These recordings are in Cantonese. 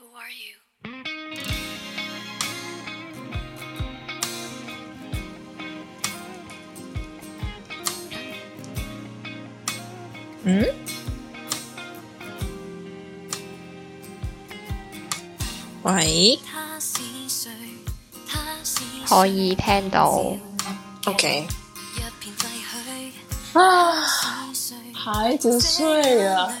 嗯？喂？ 可以聽到。 OK。啊，孩子睡了。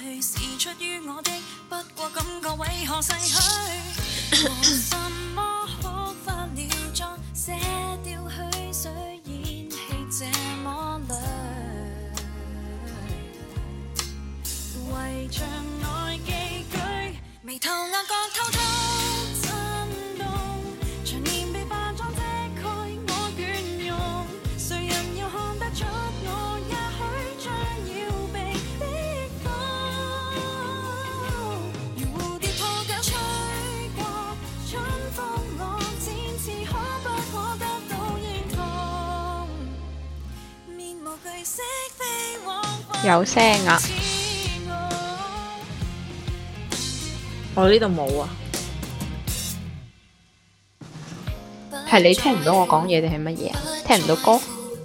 有聲啊！ 我呢度冇啊。 係你聽唔到我講嘢定係乜嘢啊？聽唔到歌？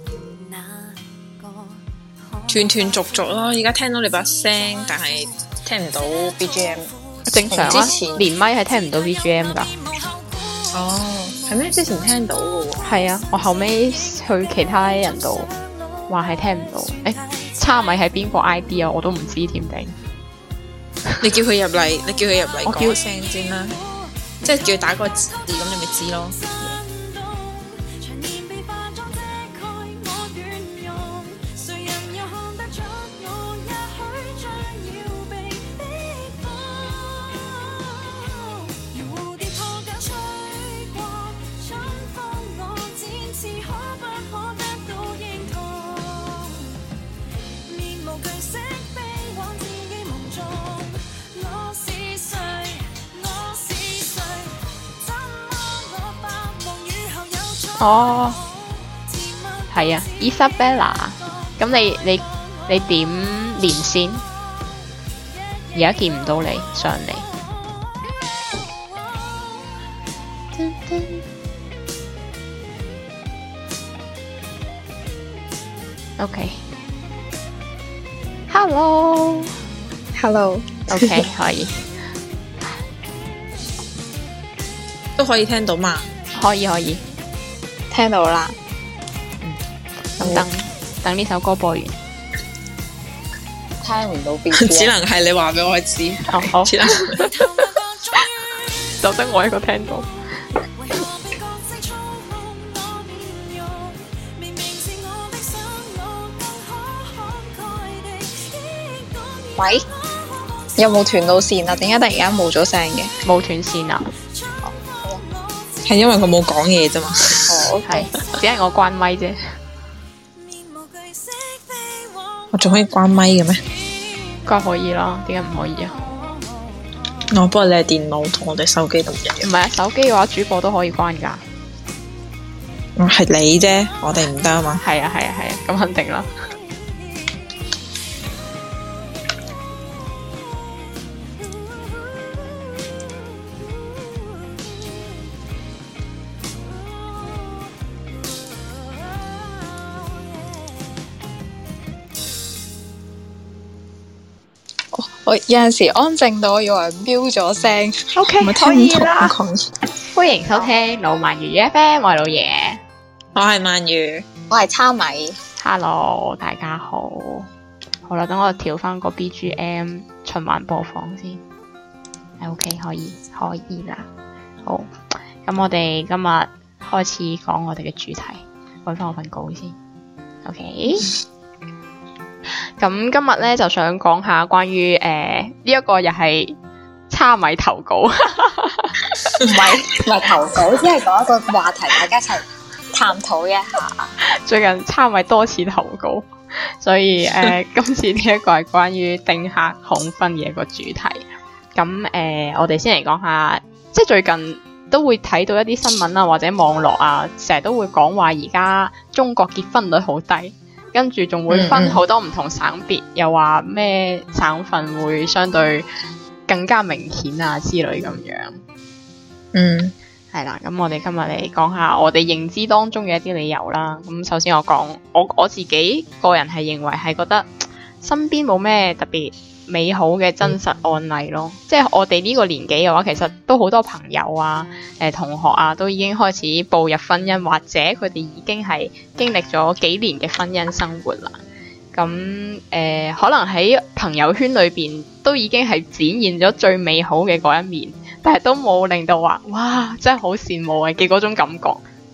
斷斷續續咯，而家聽到你把聲，但係聽唔到 BGM。 正常啊， 之前連麥係聽唔到 BGM 噶。 哦，係咩？之前聽到嘅喎。 係啊，我後尾去其他人度話係聽唔到。叉米係邊個 ID 啊？我都唔知添定。 你叫佢入嚟，講聲先啦。即係叫佢打個字，咁你咪知咯。 哦，係啊 Isabella， 咁你點連線？而家見唔到你上嚟。OK，Hello，OK 可以， 都可以聽到嘛？ 可以。 聽到啦， 咁等呢首歌播完， 聽唔到邊？ 只能係你話俾我知。 好，就得我一個聽到。 喂，有冇斷到線啊？點解突然間冇咗聲嘅？ 冇斷線啊？ 係因為佢冇講嘢啫嘛。 哦， 係，只係我關咪啫。 我仲可以關咪嘅咩？ 梗可以啦，點解唔可以啊？ 不過你係電腦同我哋手機都唔一樣。 唔係啊，手機嘅話主播都可以關噶。 係你啫，我哋唔得啊嘛。 係啊，咁肯定啦。 我有陣時安靜到我以為飆咗聲。 OK， 可以啦。歡迎收聽老萬魚 FM， 我係老爺， 我係鰻魚， 我係叉米。 Hello， 大家好。好啦，等我調翻個 BGM 循環播放先。OK， 可以啦。好，咁我哋今日開始講我哋嘅主題，搵翻我份稿先。OK。咁今日咧就想講下關於呢一個又係叉米投稿，唔係投稿，只係講一個話題，大家一齊探討一下。 最近叉米多次投稿，所以今次呢一個係關於丁克恐婚嘅一個主題。咁我哋先嚟講下，即係最近都會睇到一啲新聞啊，或者網絡啊，成日都會講話而家中國結婚率好低。跟住仲會分好多唔同省別，又話咩省份會相對更加明顯啊之類咁樣。 嗯， 係啦，咁我哋今日嚟講下我哋認知當中嘅一啲理由啦。咁首先我講我自己個人係認為係覺得身邊冇咩特別美好嘅真實案例咯。即係我哋呢個年紀嘅話，其實都好多朋友啊、同學啊，都已經開始步入婚姻，或者佢哋已經係經歷咗幾年嘅婚姻生活啦。咁可能喺朋友圈裏邊都已經係展現咗最美好嘅嗰一面，但係都冇令到話哇真係好羨慕嘅嗰種感覺。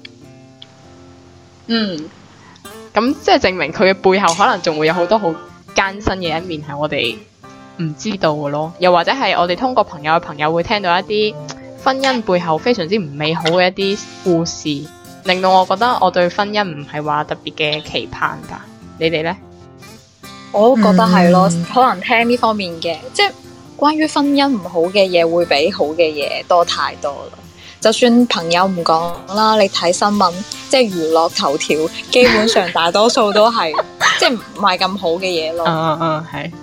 咁即係證明佢嘅背後可能仲會有好多好艱辛嘅一面係我哋唔知道嘅咯。又或者係我哋通過朋友嘅朋友會聽到一啲婚姻背後非常之唔美好嘅一啲故事，令到我覺得我對婚姻唔係話特別嘅期盼㗎。你哋呢？ 我都覺得係咯，可能聽呢方面嘅，即係關於婚姻唔好嘅嘢，會比好嘅嘢多太多啦。就算朋友唔講啦，你睇新聞，即係娛樂頭條，基本上大多數都係即係唔係咁好嘅嘢咯。 係。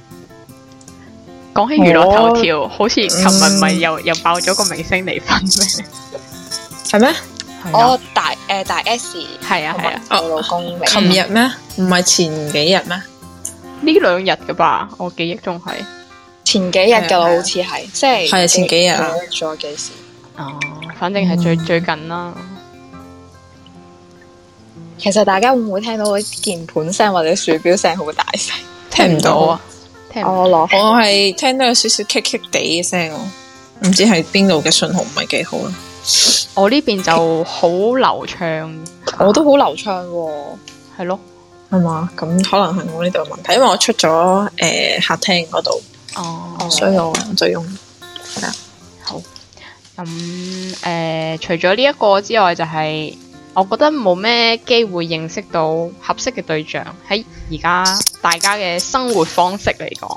講起娛樂頭條，好似琴日咪又爆咗個明星離婚咩？ 係咩？ 大 S 係啊， 我老公離婚。 琴日咩？唔係前幾日咩？ 呢兩日嘅吧，我記憶中係前幾日㗎啦，好似係即係前幾日啊， 咗幾時？ 反正係最近啦。 其實大家會唔會聽到啲鍵盤聲或者鼠標聲好大聲？ 聽唔到啊！ 我係聽到有少少棘棘地嘅聲，唔知係邊度嘅信號唔係幾好啦。 我呢邊就好流暢， 我都好流暢喎。 係咯。 係嘛？咁可能係我呢度嘅問題，因為我出咗客廳嗰度，所以我就用係啊。 好，咁除咗呢一個之外，就係我覺得冇咩機會認識到合適嘅對象，喺而家大家嘅生活方式嚟講。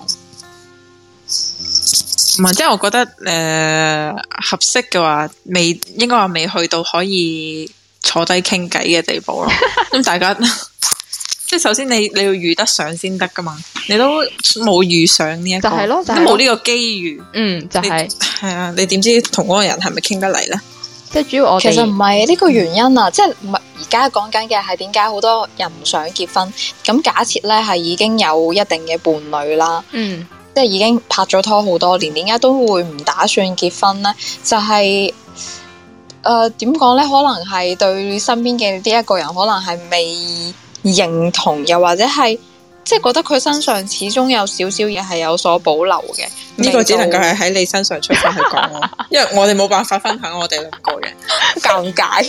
唔係，即係我覺得合適嘅話，應該話未去到可以坐低傾偈嘅地步咯。咁大家。即係首先你要遇得上先得噶嘛，你都冇遇上呢一個， 就係咯， 都冇呢個機遇。 就係啊，你點知同嗰個人係咪傾得嚟咧？ 即係主要我哋其實唔係呢個原因啊，即係唔係而家講緊嘅係點解好多人唔想結婚？咁假設咧係已經有一定嘅伴侶啦，即係已經拍咗拖好多年，點解都會唔打算結婚咧？就係點講咧？可能係對身邊嘅呢一個人，可能係未認同，又或者係即係覺得佢身上始終有少少嘢係有所保留嘅。 呢個只能夠係喺你身上出發去講咯，因為我哋冇辦法分享我哋兩個嘅尷尬。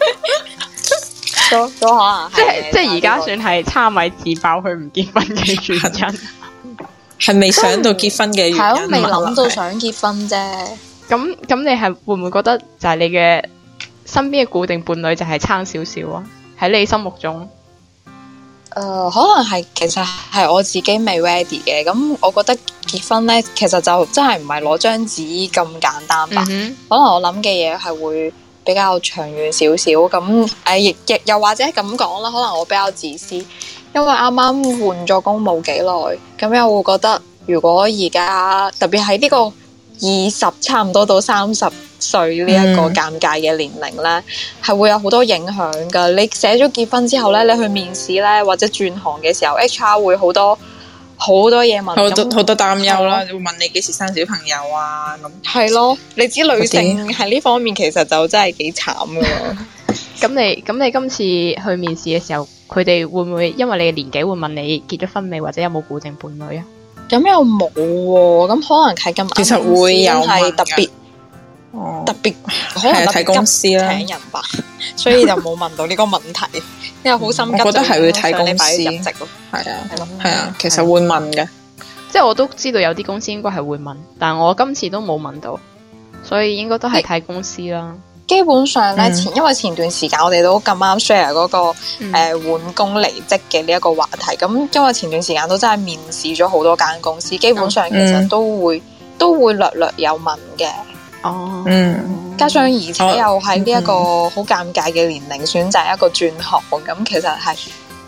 都可能即係而家算係叉米自爆佢唔結婚嘅原因， 係未想到結婚嘅原因， 係咯，未諗到想結婚啫。 咁你係會唔會覺得就係你嘅身邊嘅固定伴侶就係差少少啊？喺你心目中？ 可能係其實係我自己未 ready 嘅，咁我覺得結婚咧，其實就真係唔係攞張紙咁簡單吧。可能我諗嘅嘢係會比較長遠少少，咁亦又或者咁講啦，可能我比較自私，因為啱啱換咗工冇幾耐，咁又會覺得如果而家特別喺呢個20差唔多到30歲呢一個尷尬嘅年齡咧，係會有好多影響噶。你寫咗結婚之後咧，你去面試咧或者轉行嘅時候 HR 會好多嘢問， 好多擔憂啦，會問你幾時生小朋友啊咁。係咯，你知女性喺呢方面其實就真係幾慘噶。 咁你今次去面試嘅時候，佢哋會唔會因為你嘅年紀會問你結咗婚未，或者有冇固定伴侶啊？咁又冇喎，咁可能係咁。其實會有係特別。特別可能睇公司啦，請人吧，所以就冇問到呢個問題，因為好心急。我覺得係會睇公司，係啊，其實會問嘅，即係我都知道有啲公司應該係會問，但係我今次都冇問到，所以應該都係睇公司啦。基本上咧，因為前段時間我哋都咁啱 share 嗰個換工離職嘅呢一個話題，咁因為前段時間都真係面試咗好多間公司，基本上其實都會略略有問嘅。加上而且又喺呢一個好尷尬嘅年齡選擇一個轉行，咁其實係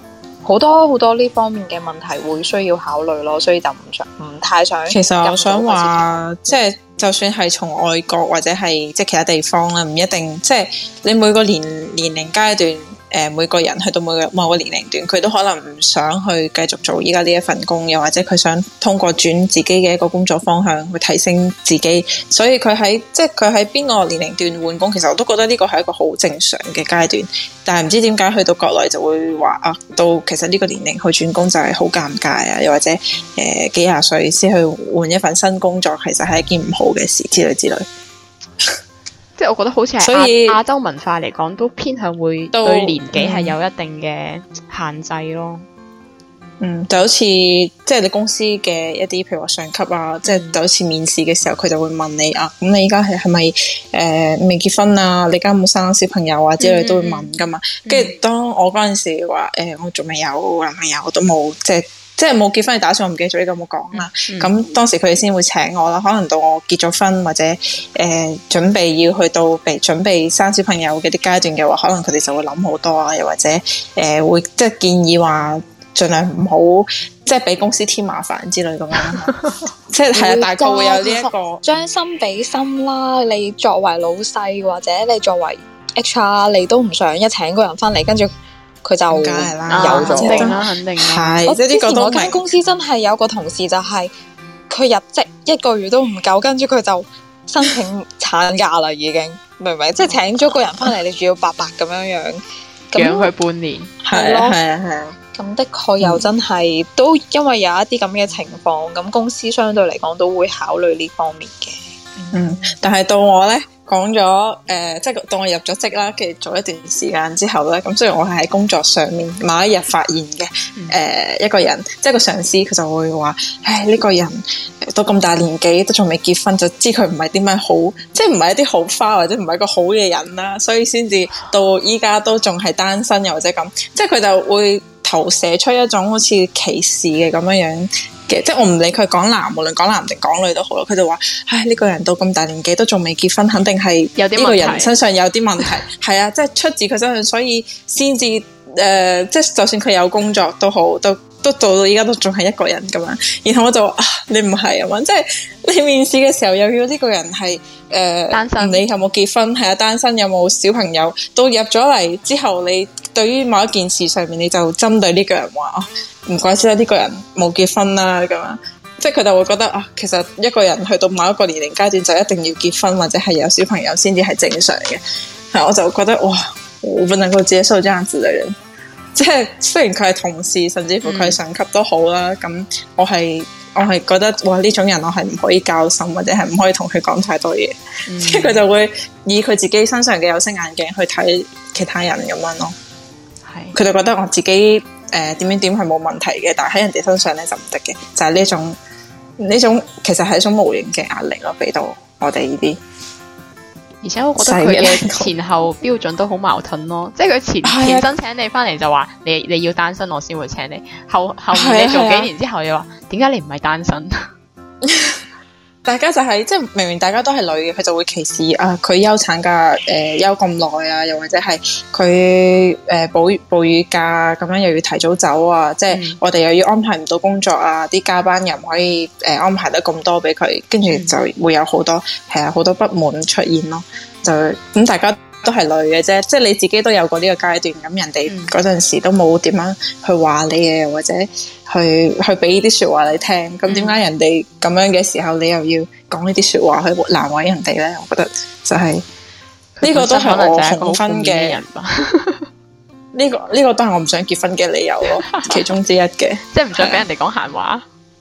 好多呢方面嘅問題會需要考慮咯，所以就唔太想。 其實我想話，即係就算係從外國或者係即係其他地方啦，唔一定即係你每個年齡階段。每個人去到某個年齡段，佢都可能唔想去繼續做依家呢一份工，又或者佢想通過轉自己嘅一個工作方向去提升自己，所以佢喺邊個年齡段換工，其實我都覺得呢個係一個好正常嘅階段。但係唔知點解去到國內就會話啊，到其實呢個年齡去轉工就係好尷尬啊，又或者幾廿歲先去換一份新工作，其實係一件唔好嘅事之類之類。 即係我覺得好似係亞洲文化嚟講，都偏向會對年紀係有一定嘅限制咯。 就好似即係你公司嘅一啲，譬如話上級啊，即係就好似面試嘅時候，佢就會問你啊，咁你而家係咪未結婚啊？你而家有冇生小朋友啊？之類都會問噶嘛。跟住當我嗰陣時話我仲未有男朋友，我都冇即係冇結婚嘅打算，我唔記得咗呢個冇講啦。咁當時佢哋先會請我啦。可能到我結咗婚或者準備要去到準備生小朋友嘅啲階段嘅話，可能佢哋就會諗好多啊，又或者會即係建議話盡量唔好即係俾公司添麻煩之類咁樣。即係係啊，大概會有呢一個將心比心啦。你作為老細或者你作為 HR， 你都唔想一請個人翻嚟，跟住佢就有咗， 肯定啦，肯定係。 我之前我間公司真係有個同事就係佢入職1個月都唔夠，跟住佢就申請產假啦，已經明唔明？即係請咗個人翻嚟，你仲要白白咁樣養佢半年， 係啊。咁的確又真係都因為有一啲咁嘅情況，咁公司相對嚟講都會考慮呢方面嘅。 但係到我咧。講咗即係當我入咗職啦，跟住做一段時間之後咧，咁雖然我係喺工作上面某一日發現嘅一個人，即係個上司，佢就會話：唉，呢個人到咁大年紀都仲未結婚，就知佢唔係啲咩好，即係唔係一啲好花或者唔係一個好嘅人啦，所以先至到依家都仲係單身，又或者咁，即係佢就會投射出一種好似歧視嘅咁樣嘅，即係我唔理佢講男，無論講男定講女都好啦，佢就話：唉，呢個人到咁大年紀都仲未結婚，肯定係呢個人身上有啲問題。係啊，即係出自佢身上，所以先至即係就算佢有工作都好，都做到依家都仲係一個人咁樣。然後我就話：你唔係啊嘛，即係你面試嘅時候又要呢個人係單身， 你有冇結婚？係啊，單身有冇小朋友？到入咗嚟之後，你對於某一件事上面，你就針對呢個人話唔怪之啦，呢個人冇結婚啦咁樣，即係佢就會覺得啊，其實一個人去到某一個年齡階段就一定要結婚或者係有小朋友先至係正常嘅。係，我就覺得哇，我不能夠接受這樣子嘅人。即係雖然佢係同事，甚至乎佢係上級都好啦，咁我係覺得哇，呢種人我係唔可以交心，或者係唔可以同佢講太多嘢。即係佢就會以佢自己身上嘅有色眼鏡去睇其他人咁樣咯。係，佢就覺得我自己點樣點係冇問題嘅，但係喺人哋身上咧就唔得嘅，就係呢種其實係一種無形嘅壓力咯，俾到我哋呢啲。 而且我覺得佢嘅前後標準都好矛盾咯，即係佢前身請你翻嚟就話你要單身我先會請你，後面你做幾年之後又話點解你唔係單身？ 大家就係即係明明大家都係女嘅，佢就會歧視啊佢休產假休咁耐啊，又或者係佢哺乳假咁樣又要提早走啊，即係我哋又要安排唔到工作啊，啲加班又唔可以安排得咁多俾佢，跟住就會有好多好多不滿出現咯。就咁大家都係女嘅啫，即係你自己都有過呢個階段，咁人哋嗰陣時都冇點樣去話你嘅，或者去俾啲說話你聽，咁點解人哋咁樣嘅時候，你又要講呢啲說話去難為人哋咧？我覺得就係呢個都係我紅婚嘅人吧。呢個都係我唔想結婚嘅理由咯，其中之一嘅， 即係唔想俾人哋講閒話。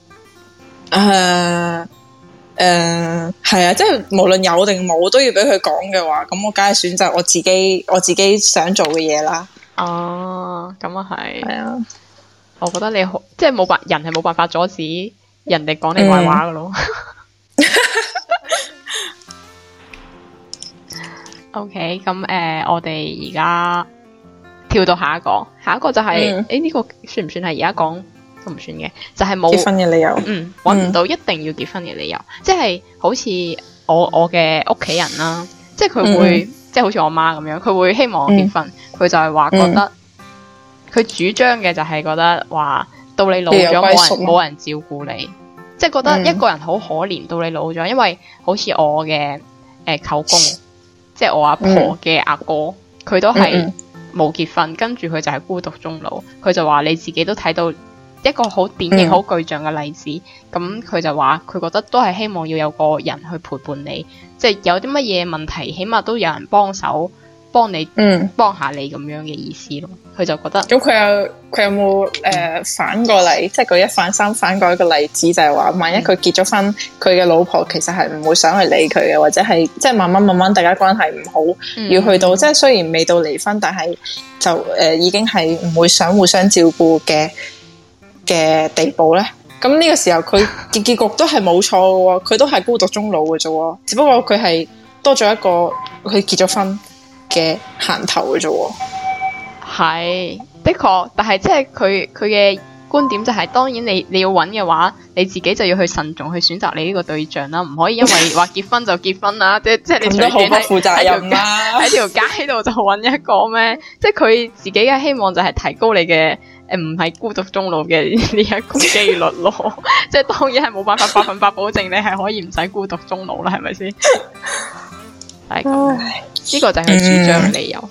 係啊，即係無論有定冇都要俾佢講嘅話，咁我梗係選擇我自己想做嘅嘢啦。 哦，咁啊係。係啊， 我覺得你好，即係人係冇辦法阻止人哋講你壞話噶咯。OK， 咁我哋而家跳到下一個就係呢個算唔算係而家講？都唔算嘅，就係冇結婚嘅理由。 搵唔到一定要結婚嘅理由，即係好似我嘅屋企人啦，即係佢會即係好似我媽咁樣，佢會希望我結婚，佢就係話覺得佢主張嘅就係覺得話到你老咗冇人照顧你，即係覺得一個人好可憐到你老咗，因為好似我嘅舅公，即係我阿婆嘅阿哥，佢都係冇結婚，跟住佢就係孤獨終老。佢就話你自己都睇到一個好典型、好具象嘅例子。咁佢就話佢覺得都係希望要有個人去陪伴你，即係有啲乜嘢問題，起碼都有人幫手幫你，幫下你咁樣嘅意思咯。佢就覺得咁佢有冇反過嚟，即係舉一反三反過一個例子，就係話萬一佢結咗婚，佢嘅老婆其實係唔會想去理佢嘅，或者係即係慢慢大家關係唔好，要去到即係雖然未到離婚，但係就已經係唔會想互相照顧嘅地步咧。咁呢個時候佢嘅結局都係冇錯嘅，佢都係孤獨終老嘅啫，只不過佢係多咗一個佢結咗婚嘅銜頭嘅啫。 係的確，但係即係佢嘅觀點就係，當然你要揾嘅話，你自己就要去慎重去選擇你呢個對象啦，唔可以因為話結婚就結婚啦，即係你隨便喺條街度就揾一個咩？即係佢自己嘅希望就係提高你嘅唔係孤獨終老嘅呢一個機率咯。即係當然係冇辦法100%保證你係可以唔使孤獨終老啦，係咪先？係咁，呢個就係佢主張嘅理由。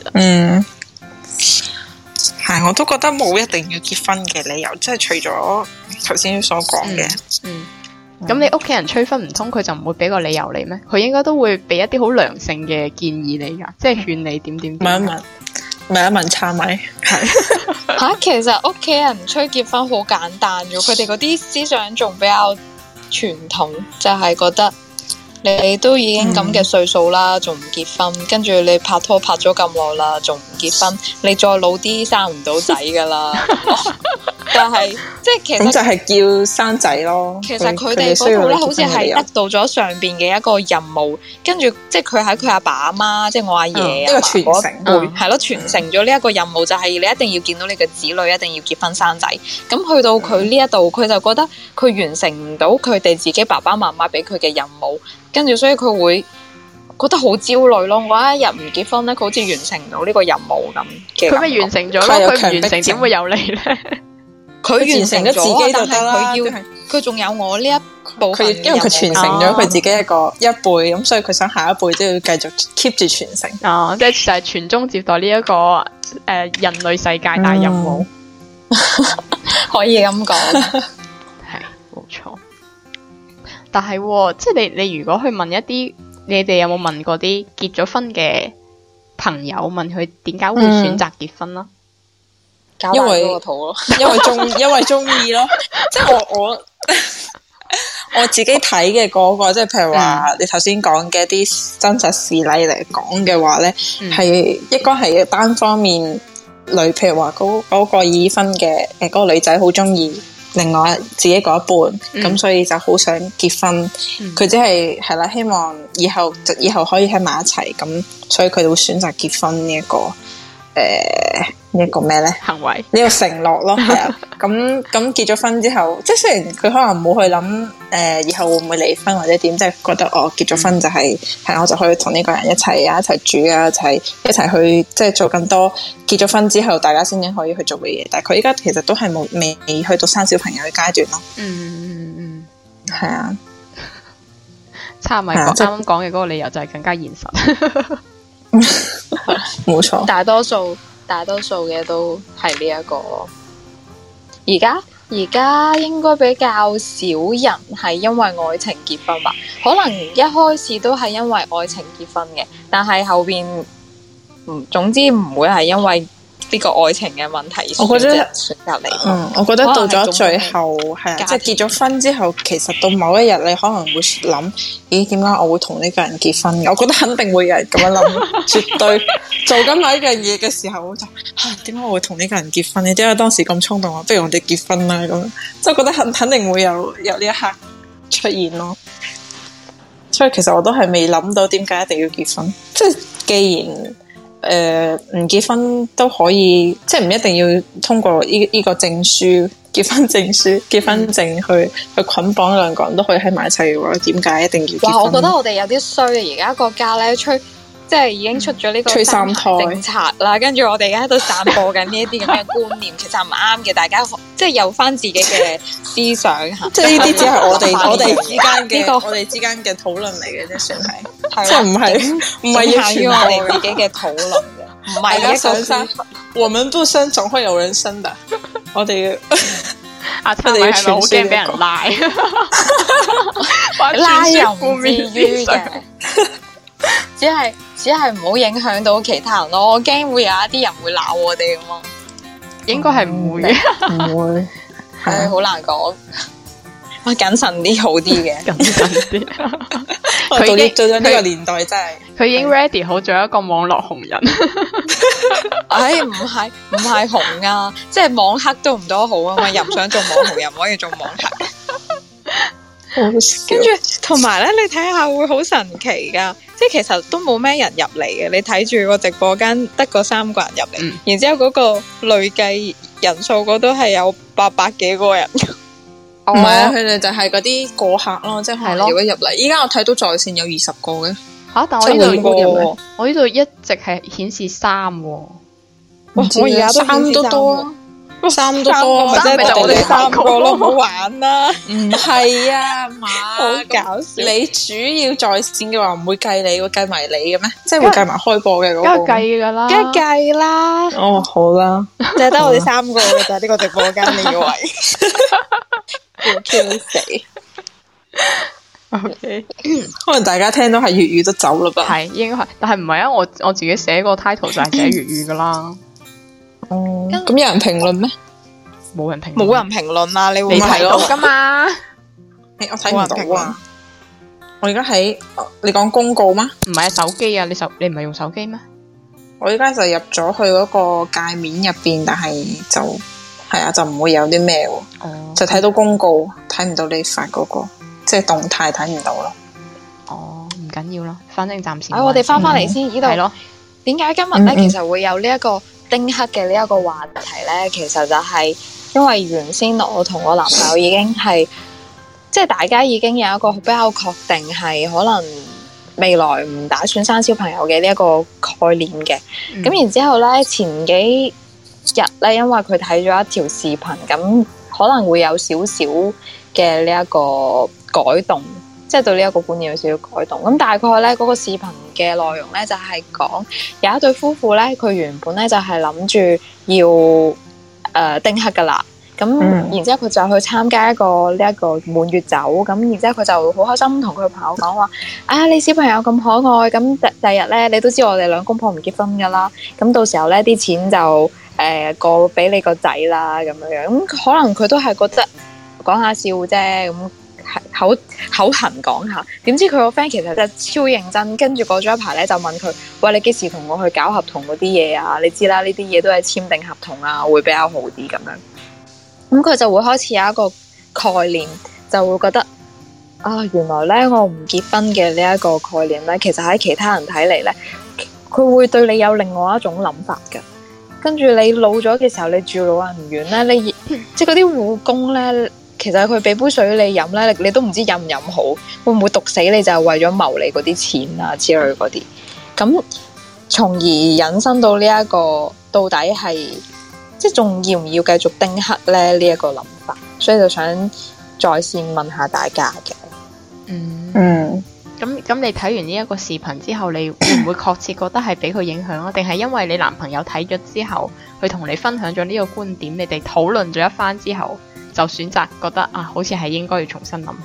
係，我都覺得冇一定要結婚嘅理由，即係除咗頭先所講嘅。 咁你屋企人催婚唔通佢就唔會俾個理由你咩？佢應該都會俾一啲好良性嘅建議你噶，即係勸你點。 問一問差咪係吓，其實屋企人催結婚好簡單嘅，佢哋嗰啲思想仲比較傳統，就係覺得你都已經咁嘅歲數啦，仲唔結婚？跟住你拍拖拍咗咁耐啦，仲唔結婚？你再老啲生唔到仔噶啦。但係即係其實咁就係叫生仔咯。 其實佢哋嗰度咧，好似係得到咗上邊嘅一個任務，跟住即係佢喺佢阿爸阿媽，即係我阿爺啊， 傳承係咯，傳承咗呢一個任務，就係你一定要見到你嘅子女，一定要結婚生仔。咁去到佢呢一度，佢就覺得佢完成唔到佢哋自己爸爸媽媽俾佢嘅任務，跟住所以佢會覺得好焦慮咯。我一日唔結婚咧，佢好似完成唔到呢個任務咁嘅。 佢咪完成咗咯？佢唔完成點會有你咧？ 佢完成咗自己就得啦，佢仲有我呢一部分， 因為佢傳承咗佢自己一輩，咁所以佢想下一輩都要繼續 keep 住傳承。 即係就係傳宗接代呢一個人類世界大任務， 可以咁講， 係冇錯。但係即係你如果去問一啲，你哋有冇問過啲結咗婚嘅朋友，問佢點解會選擇結婚啦？ 因為個肚咯， 因為中意咯。即係我自己睇嘅嗰個，即係譬如話你頭先講嘅一啲真實事例嚟講嘅話咧，係應該係單方面譬如話嗰個已婚嘅嗰個女仔好中意另外自己嗰一半，咁所以就好想結婚。佢只係啦，希望以後可以喺埋一齊，咁所以佢會選擇結婚呢一個呢一個咩咧行為， 呢個承諾咯。係啊，咁結咗婚之後，即係雖然佢可能冇去諗以後會唔會離婚或者點，即係覺得結咗婚就係我就可以同呢個人一齊住啊，一齊去即係做更多結咗婚之後大家先至可以去做嘅嘢。但係佢依家其實都係未去到生小朋友嘅階段咯。係啊， 差咪啱啱講嘅嗰個理由就係更加現實。 冇錯， 大多數嘅都係呢一個。而家應該比較少人係因為愛情結婚吧？可能一開始都係因為愛情結婚嘅，但係後邊總之唔會係因為呢個愛情嘅問題選擇離婚。 我覺得到咗最後係即係結咗婚之後，其實到某一日你可能會諗，咦，點解我會同呢個人結婚嘅？我覺得肯定會有人咁樣諗，絕對做緊某一樣嘢嘅時候，我就點解我會同呢個人結婚？你點解當時咁衝動啊？不如我哋結婚啦咁，即係覺得肯定會有呢一刻出現咯。所以其實我都係未諗到點解一定要結婚，即係既然。唔結婚都可以，即係唔一定要通過呢個證書、結婚證去捆綁兩個人都可以喺埋一齊嘅話，點解一定要結婚？ 哇！我覺得我哋有啲衰啊！而家國家咧即即係已經出咗呢個催三胎政策啦，跟住我哋而家喺度散播緊呢一啲咁嘅觀念，其實唔啱嘅。大家即係有翻自己嘅思想嚇， 即係呢啲只係我哋之間嘅我哋之間嘅討論嚟嘅啫，算係，即係唔係要限於我哋自己嘅討論嘅，唔係一個生。我們不生，總會有人生的。我哋阿琛咪係咪好驚俾人拉？ 拉又唔至於嘅，只係唔好影響到其他人咯。我驚會有一啲人會鬧我哋咁嘛。 應該係唔會， 唔會， 係好難講。我謹慎啲好啲嘅， 謹慎啲。 佢已經做咗呢個年代真係， 佢已經 ready 好做一個網絡紅人。 唉，唔係紅啊，即係網黑都唔多好啊嘛，又唔想做網紅，又唔可以做網黑。跟住同埋咧，你睇下會好神奇噶，即係其實都冇咩人入嚟嘅，你睇住個直播間得個3個人入嚟，然之後嗰個累計人數嗰都係有800幾個人。 唔係啊，佢哋就係嗰啲過客咯，即係如果入嚟。依家我睇到在線有20個嘅吓，但我呢度一直係顯示3喎。 我而家3都多，3都多，咪即係我哋3個咯，唔好玩啦。 唔係啊嘛， 好搞笑。 你主要在線嘅話唔會計你，會計埋你嘅咩？即係會計埋開播嘅嗰個。 梗係計噶啦， 梗係計啦。 哦，好啦， 就係得我哋3個嘅咋呢個直播間，你以為？要 Q 死。 OK， 可能大家聽到係粵語都走啦吧？ 係應該係，但係唔係啊！我自己寫個 title 就係寫粵語噶啦。 咁有人評論咩？ 冇人評， 冇人評論啊！你會睇到噶嘛？ 我睇唔到啊！我而家喺你講公告嗎？ 唔係啊，手機啊！你唔係用手機咩？ 我而家就入咗去嗰個界面入邊，但係就係啊，就唔會有啲咩喎，就睇到公告，睇唔到你發嗰個，即係動態睇唔到咯。 哦，唔緊要啦，反正暫時。 我哋翻嚟先，呢度係咯。 點解今日咧其實會有呢一個丁克嘅呢一個話題咧？其實就係因為原先我同我男朋友已經係，即係大家已經有一個比較確定係可能未來唔打算生小朋友嘅呢一個概念嘅。咁然之後咧，前幾日咧，因為佢睇咗一條視頻，咁可能會有少少嘅呢一個改動，即係對呢一個觀念有少少改動。咁大概咧嗰個視頻嘅內容咧就係講有一對夫婦咧，佢原本咧就係諗住要丁克噶啦。咁然之後佢就去參加一個呢一個滿月酒，咁然之後佢就好開心同佢朋友講話：啊，你小朋友咁可愛，咁第日咧你都知我哋兩公婆唔結婚噶啦，咁到時候咧啲錢就過俾你個仔啦咁樣樣。咁可能佢都係覺得講下笑啫，咁口痕講下。點知佢個 friend 其實就超認真，跟住過咗一排咧就問佢：喂，你幾時同我去搞合同嗰啲嘢啊？你知啦，呢啲嘢都係簽訂合同啊，會比較好啲咁樣。咁佢就會開始有一個概念，就會覺得啊，原來咧我唔結婚嘅呢一個概念咧，其實喺其他人睇嚟咧，佢會對你有另外一種諗法㗎。跟住你老咗嘅時候，你住老人院咧，你即係嗰啲護工咧，其實佢俾杯水你飲咧，你都唔知飲唔飲好，會唔會毒死你就係為咗謀你嗰啲錢啊之類嗰啲。咁從而引申到呢一個到底係。即係仲要唔要繼續丁克咧？呢一個諗法，所以就想在線問下大家嘅。 咁你睇完呢一個視頻之後，你會唔會確切覺得係俾佢影響啊？定係因為你男朋友睇咗之後，佢同你分享咗呢個觀點，你哋討論咗一番之後，就選擇覺得啊，好似係應該要重新諗下。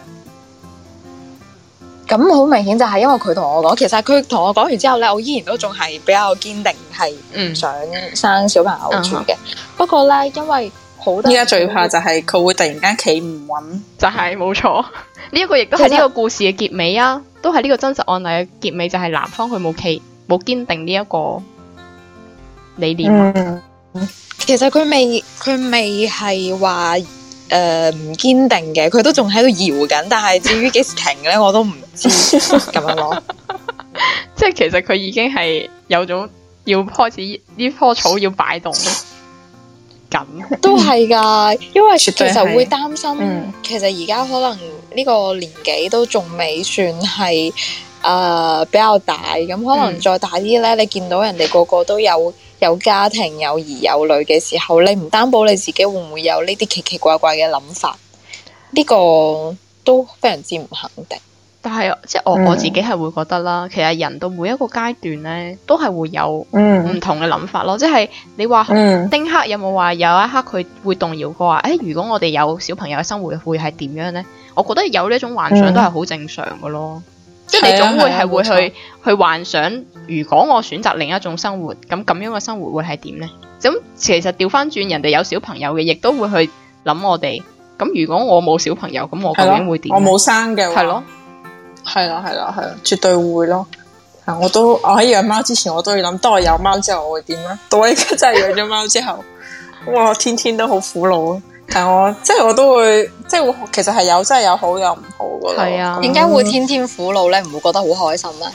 咁好明顯就係因為佢同我講，其實佢同我講完之後咧，我依然都仲係比較堅定係唔想生小朋友住嘅。不過咧，因為好多依家最怕就係佢會突然間企唔穩， 就係冇錯。呢一個亦都係呢個故事嘅結尾啊，都係呢個真實案例嘅結尾，就係男方佢冇堅定呢一個理念。 其實佢未係話唔堅定嘅，佢都仲喺度搖緊，但係至於幾時停咧，我都唔知咁樣咯。 即係其實佢已經係有種要開始呢棵草要擺動緊， 都係噶，因為其實會擔心，其實而家可能呢個年紀都仲未算係比較大，咁可能再大啲咧，你見到人哋個個都有家庭有兒有女嘅時候，你唔擔保你自己會唔會有呢啲奇奇怪怪嘅諗法，呢個都非常之唔肯定。 但係即係我自己係會覺得啦，其實人到每一個階段咧，都係會有唔同嘅諗法咯。即係你話丁克有冇話有一刻佢會動搖過話，如果我哋有小朋友嘅生活會係點樣咧？我覺得有呢一種幻想都係好正常嘅咯。即係你總會係會去幻想，如果我選擇另一種生活，咁樣嘅生活會係點咧？咁其實調翻轉，人哋有小朋友嘅，亦都會去諗我哋。咁如果我冇小朋友，咁我究竟會點？ 我冇生嘅話，係咯，絕對會咯。我喺養貓之前，我都要諗，當我有貓之後我會點咧？到我而家真係養咗貓之後，哇，天天都好苦惱。但我都會，其實係真係有好有唔好噶咯。係啊， 點解會天天苦惱咧？唔會覺得好開心咩？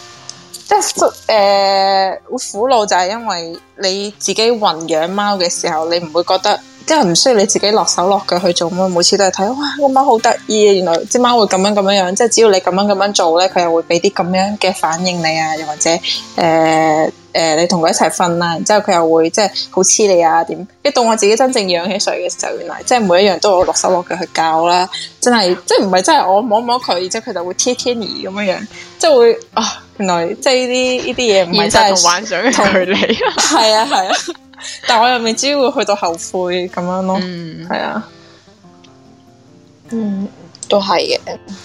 會苦惱就係因為你自己混養貓嘅時候，你唔會覺得。即係唔需要你自己落手落腳去做嘛，每次都係睇，哇，個貓好得意啊！原來隻貓會咁樣，即係只要你咁樣做咧，佢又會俾啲咁樣嘅反應你啊，又或者你同佢一齊瞓啦，然之後佢又會即係好黐你啊點？一到我自己真正養起水嘅時候，原來即係每一樣都有落手落腳去教啦，真係即係唔係真係我摸摸佢，然之後佢就會貼你咁樣，即係會原來即係呢啲嘢唔係真係同幻想嘅距離， 係啊。但我又未知會去到後悔咁樣咯，係啊， 都係嘅。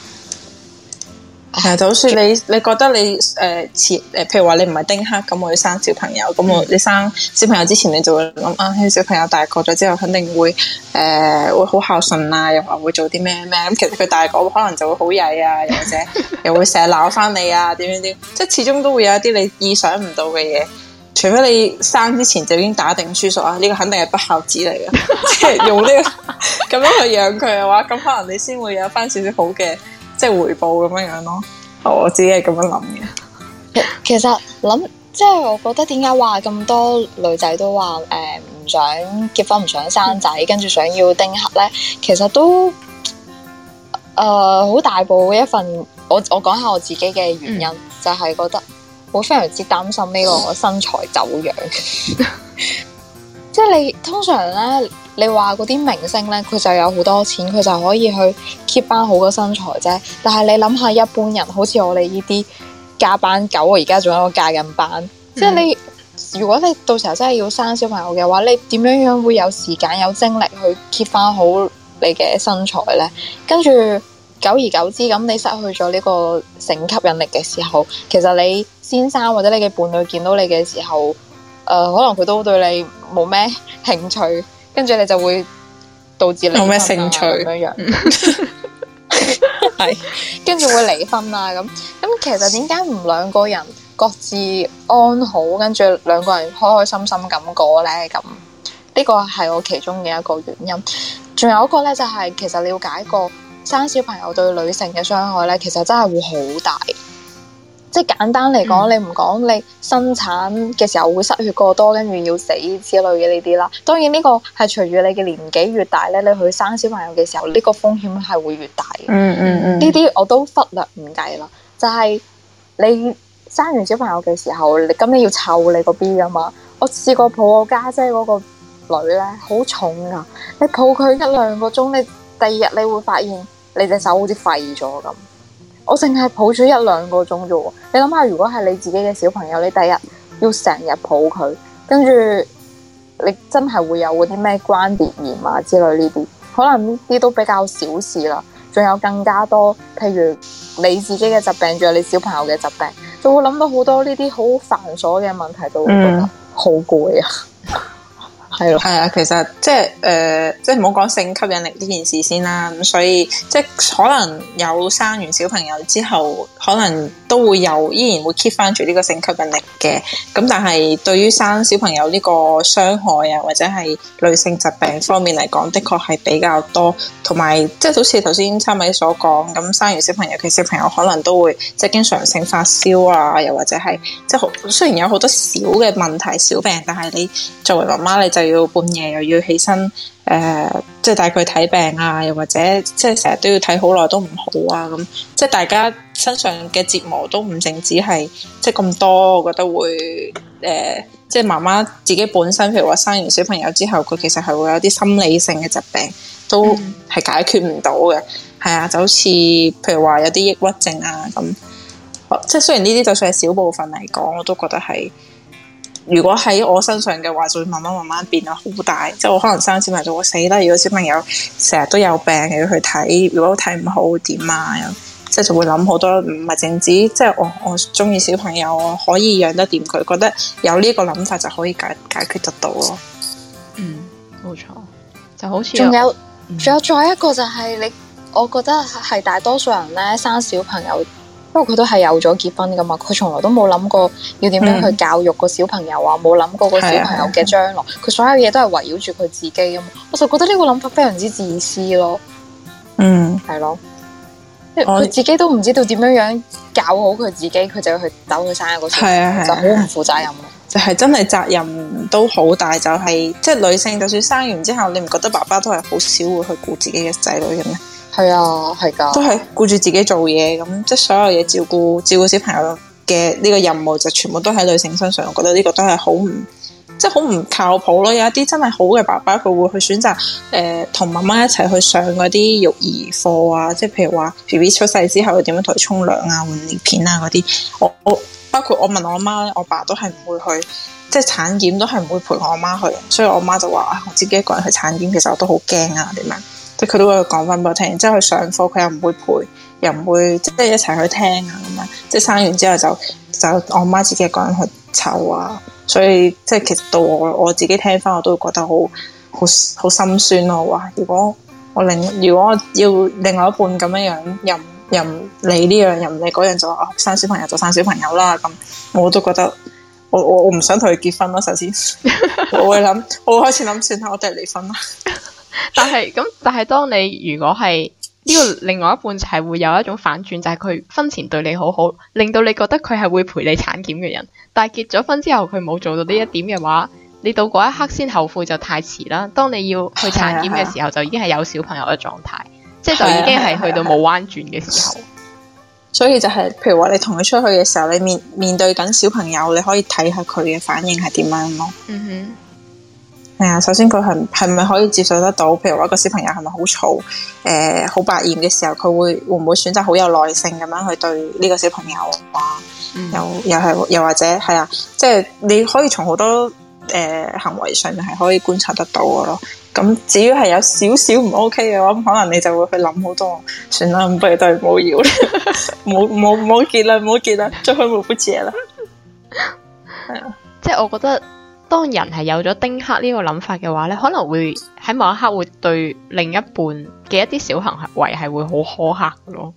就好似你覺得你譬如話你唔係丁克咁，我要生小朋友咁，你生小朋友之前你就會諗小朋友大個咗之後肯定會好孝順啊，又話會做啲咩咁，其實佢大個可能就會好曳啊，又或者又會成日鬧翻你啊，點，即係始終都會有一啲你意想唔到嘅嘢。除非你生之前就已經打定輸數啊，呢個肯定係不孝子嚟嘅，即係用呢個咁樣去養佢嘅話，咁可能你先會有翻少少好嘅即係回報咁樣咯。我自己係咁樣諗嘅。 其實即係我覺得點解話咁多女仔都話唔想結婚唔想生仔，跟住想要丁克咧，其實都好大部一份。我講下我自己嘅原因，就係覺得。我非常之擔心呢個身材走樣，即係你通常咧，你話嗰啲明星咧，佢就有好多錢，佢就可以去 keep 翻好個身材啫。但係你諗下，一般人好似我哋呢啲加班狗，我而家仲有個加緊班，即係你如果你到時候真係要生小朋友嘅話，你點樣會有時間有精力去 keep 翻好你嘅身材咧？跟住久而久之，咁你失去咗呢個性吸引力嘅時候，其實你先生或者你嘅伴侶見到你嘅時候，可能佢都對你冇咩興趣，跟住你就會導致離婚冇咩興趣咁樣，係跟住會離婚啊咁。其實點解唔兩個人各自安好，跟住兩個人開開心心咁過咧？咁呢個係我其中嘅一個原因。仲有一個咧，就係其實了解過生小朋友對女性嘅傷害咧，其實真係會好大。即係簡單嚟講，你唔講你生產嘅時候會失血過多，跟住要死之類嘅呢啲啦。當然呢個係隨住你嘅年紀越大咧，你去生小朋友嘅時候，呢個風險係會越大嘅。呢啲我都忽略唔計啦。就係你生完小朋友嘅時候，你要湊你個 B 噶嘛。我試過抱我家姐嗰個女咧，好重噶。你抱佢1-2個鐘，你第二日你會發現你隻手好似廢咗咁。我淨係抱咗1-2個鐘啫喎，你諗下，如果係你自己嘅小朋友，你第日要成日抱佢，跟住你真係會有嗰啲咩關節炎啊之類呢啲，可能呢啲都比較小事啦。仲有更加多，譬如你自己嘅疾病，仲有你小朋友嘅疾病，就會諗到好多呢啲好繁瑣嘅問題，就會覺得好攰啊。係咯， 係啊，其實即係唔好講性吸引力呢件事先啦。咁所以即係可能有生完小朋友之後，可能都會依然會 keep 翻住呢個性吸引力嘅。咁但係對於生小朋友呢個傷害啊，或者係女性疾病方面嚟講，的確係比較多。同埋即係好似頭先參米所講，咁生完小朋友嘅小朋友可能都會即係經常性發燒啊，又或者係即係雖然有好多小嘅問題、小病，但係你作為媽媽，你就要半夜又要起身，即係帶佢睇病啊，又或者即係成日都要睇好耐都唔好啊，咁即係大家身上嘅折磨都唔淨止係即係咁多，我覺得會即係媽媽自己本身，譬如話生完小朋友之後，佢其實係會有啲心理性嘅疾病，都係解決唔到嘅。係啊，就好似譬如話有啲抑鬱症啊咁，即係雖然呢啲就算係小部分嚟講，我都覺得係。如果喺我身上嘅話，就會慢慢變得好大。即係我可能生小朋友就會死啦。如果小朋友成日都有病，又要去睇，如果睇唔好點啊？即係就會諗好多，唔係淨止即係我中意小朋友，我可以養得掂佢，覺得有呢個諗法就可以解決得到咯。 冇錯，就好似仲有再一個就係我覺得係大多數人咧生小朋友。因為佢都係有咗結婚噶嘛，佢從來都冇諗過要點樣去教育個小朋友啊，冇諗過個小朋友嘅將來，佢所有嘢都係圍繞住佢自己啊嘛，我就覺得呢個諗法非常之自私咯。係咯，因為佢自己都唔知道點樣教好佢自己，佢就要去走去生一個小朋友，就好唔負責任咯。 就係真係責任都好大，就係即係女性，就算生完之後，你唔覺得爸爸都係好少會去顧自己嘅仔女嘅咩？ 係啊，係噶， 都係顧住自己做嘢咁，即係所有嘢照顧小朋友嘅呢個任務就全部都喺女性身上。我覺得呢個都係好唔靠譜咯。有一啲真係好嘅爸爸，佢會去選擇同媽媽一齊去上嗰啲育兒課啊，即係譬如話 BB 出世之後點樣同佢沖涼啊、換尿片啊嗰啲。我包括我問我媽咧，我爸都係唔會去，即係產檢都係唔會陪我媽去，所以我媽就話我自己一個人去產檢，其實我都好驚啊點樣。即係佢都會講翻俾我聽，之後去上課佢又唔會陪，又唔會即係一齊去聽啊咁樣。即係生完之後就我媽自己一個人去湊啊，所以即係其實到我自己聽翻，我都會覺得好心酸咯。哇！如果我要另外一半咁樣又唔理呢樣又唔理嗰樣，就話生小朋友就生小朋友啦咁，我都覺得我唔想同佢結婚咯。首先我會開始諗算啦，我哋離婚啦。 但係當你如果係呢個另外一半，就係會有一種反轉，就係佢婚前對你好好，令到你覺得佢係會陪你產檢嘅人，但係結咗婚之後佢冇做到呢一點嘅話，你到嗰一刻先後悔就太遲啦。當你要去產檢嘅時候，就已經係有小朋友嘅狀態，即係就已經係去到冇彎轉嘅時候。 所以就係譬如話你同佢出去嘅時候，你面對緊小朋友，你可以睇下佢嘅反應係點樣咯。係啊，首先佢係咪可以接受得到？譬如話個小朋友係咪好嘈，好百厭嘅時候，佢會唔會選擇好有耐性咁樣去對呢個小朋友啊？又或者係啊，即係你可以從好多行為上面係可以觀察得到嘅咯。咁至於係有少少唔 OK 嘅話，咁可能你就會去諗好多，算啦，不如都係唔好要啦，冇結啦，最好冇不結啦。係啊， 即係我覺得。當人係有咗丁克呢個諗法嘅話咧，可能會喺某一刻會對另一半嘅一啲小行為係會好苛刻嘅咯。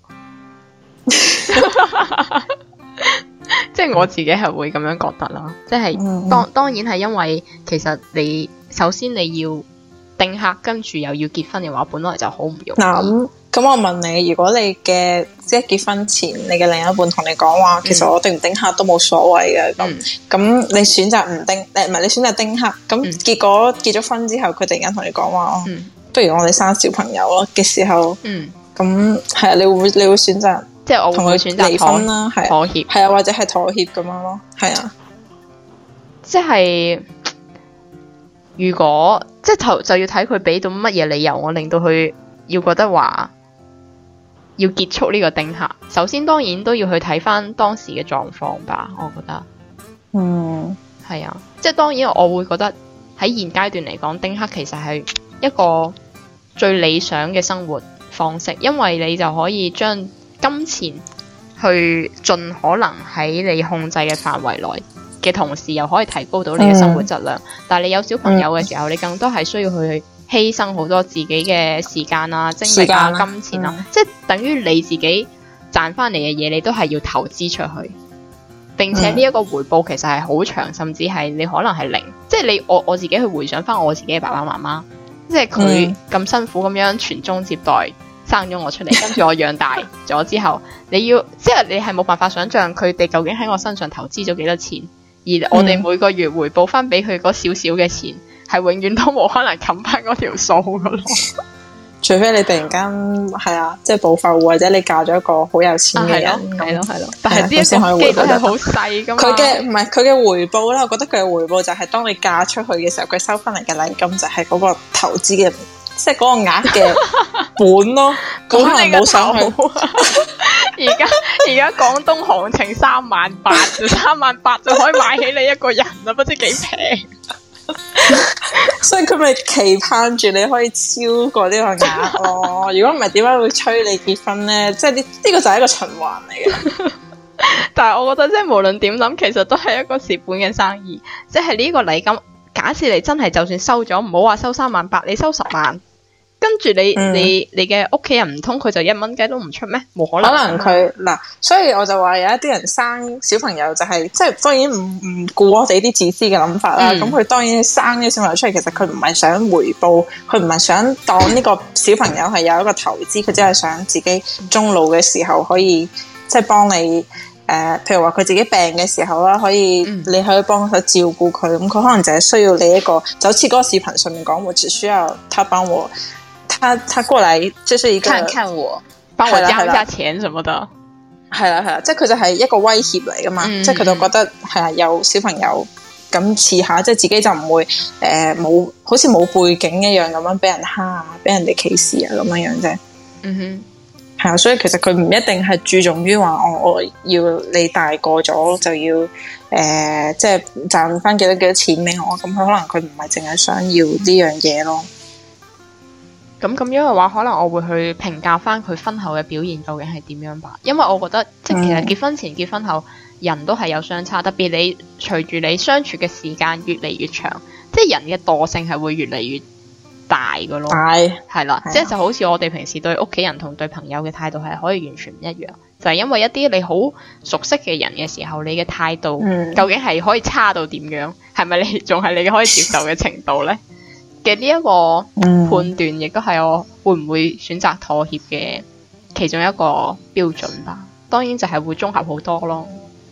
即係我自己係會咁樣覺得啦。即係當然係因為其實你首先你要丁克，跟住又要結婚嘅話，本來就好唔容易。 咁我問你，如果你嘅即係結婚前，你嘅另一半同你講話，其實我丁唔丁克都冇所謂嘅，咁你選擇唔丁，唔係你選擇丁克，咁結果結咗婚之後，佢突然間同你講話，不如我哋生小朋友咯嘅時候，咁係啊，你會選擇即係我同佢選擇離婚啦，妥協， 係啊，或者係妥協咁樣咯，係啊， 即係如果即係就要睇佢俾到乜嘢理由，我令到佢要覺得話。要結束呢個丁克，首先當然都要去睇翻當時嘅狀況吧，我覺得。係啊，即係當然我會覺得喺現階段嚟講，丁克其實係一個最理想嘅生活方式，因為你就可以將金錢去盡可能喺你控制嘅範圍內嘅同時，又可以提高到你嘅生活質量。但係你有小朋友嘅時候，你更多係需要去犧牲好多自己嘅時間啊、精力啊、金錢啊，即係等於你自己賺翻嚟嘅嘢，你都係要投資出去，並且呢一個回報其實係好長，甚至係你可能係零。即係我自己去回想翻我自己嘅爸爸媽媽，即係佢咁辛苦咁樣傳宗接代生咗我出嚟，跟住我養大咗之後，即係你係冇辦法想象佢哋究竟喺我身上投資咗幾多錢，而我哋每個月回報翻俾佢嗰少少嘅錢。係永遠都冇可能冚翻嗰條數噶咯。 除非你突然間係啊，即係暴發戶或者你嫁咗一個好有錢嘅人， 係咯。但係呢一先可以回報係好細噶嘛。 佢嘅唔係佢嘅回報啦，我覺得佢嘅回報就係當你嫁出去嘅時候，佢收翻嚟嘅禮金就係嗰個投資嘅，即係嗰個額嘅本咯。可能冇想去。 而家廣東行情38000就可以買起你一個人啦，不知幾平。 所以佢咪期盼住你可以超過呢個額咯。如果唔係，點解會催你結婚呢？即係呢個就係一個循環嚟嘅。 但係我覺得即係無論點諗，其實都係一個蝕本嘅生意。即係呢個禮金，假設你真係就算收咗，唔好話收38000，你收10萬。跟住你嘅屋企人唔通佢就1蚊雞都唔出咩？冇可能。 可能佢嗱，所以我就話有一啲人生小朋友就係即係當然唔顧我哋啲自私嘅諗法啦。咁佢當然生啲小朋友出嚟，其實佢唔係想回報，佢唔係想當呢個小朋友係有一個投資，佢只係想自己終老嘅時候可以即係幫你譬如話佢自己病嘅時候啦，你可以幫佢照顧佢。咁佢可能就係需要你一個，就好似嗰個視頻上面講，我只需要他幫我。他過嚟，即係一個看看我， 幫我交一下錢什麼的， 係啦，即係佢就係一個威脅嚟噶嘛，即係佢就覺得係啊，有小朋友咁試下，即係自己就唔會冇好似冇背景一樣咁樣俾人蝦啊，俾人哋歧視啊咁樣樣啫。係啊，所以其實佢唔一定係注重於話我要你大個咗就要即係賺翻幾多錢俾我，咁佢可能佢唔係淨係想要呢樣嘢咯。 咁樣嘅話，可能我會去評價翻佢婚後嘅表現究竟係點樣吧。因為我覺得即係其實結婚前結婚後人都係有相差，特別你隨住你相處嘅時間越嚟越長，即係人嘅惰性係會越嚟越大嘅咯。係啦，即係就好似我哋平時對屋企人同對朋友嘅態度係可以完全唔一樣，就係因為一啲你好熟悉嘅人嘅時候，你嘅態度究竟係可以差到點樣？係咪你仲係你可以接受嘅程度呢？嘅呢一個判斷，亦都係我會唔會選擇妥協嘅其中一個標準吧。當然就係會綜合好多咯。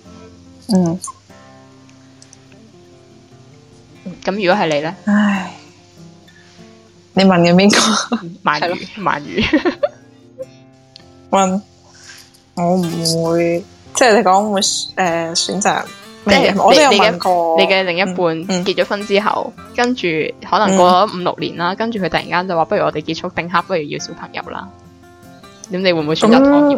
咁如果係你呢？ 唉，你問嘅邊個？ 鰻魚。 問我唔會，即係你講會選擇。 即係我都有問過你嘅另一半結咗婚之後，跟住可能過咗5-6年啦，跟住佢突然間就話不如我哋結束丁克，不如要小朋友啦。咁你會唔會選擇妥協？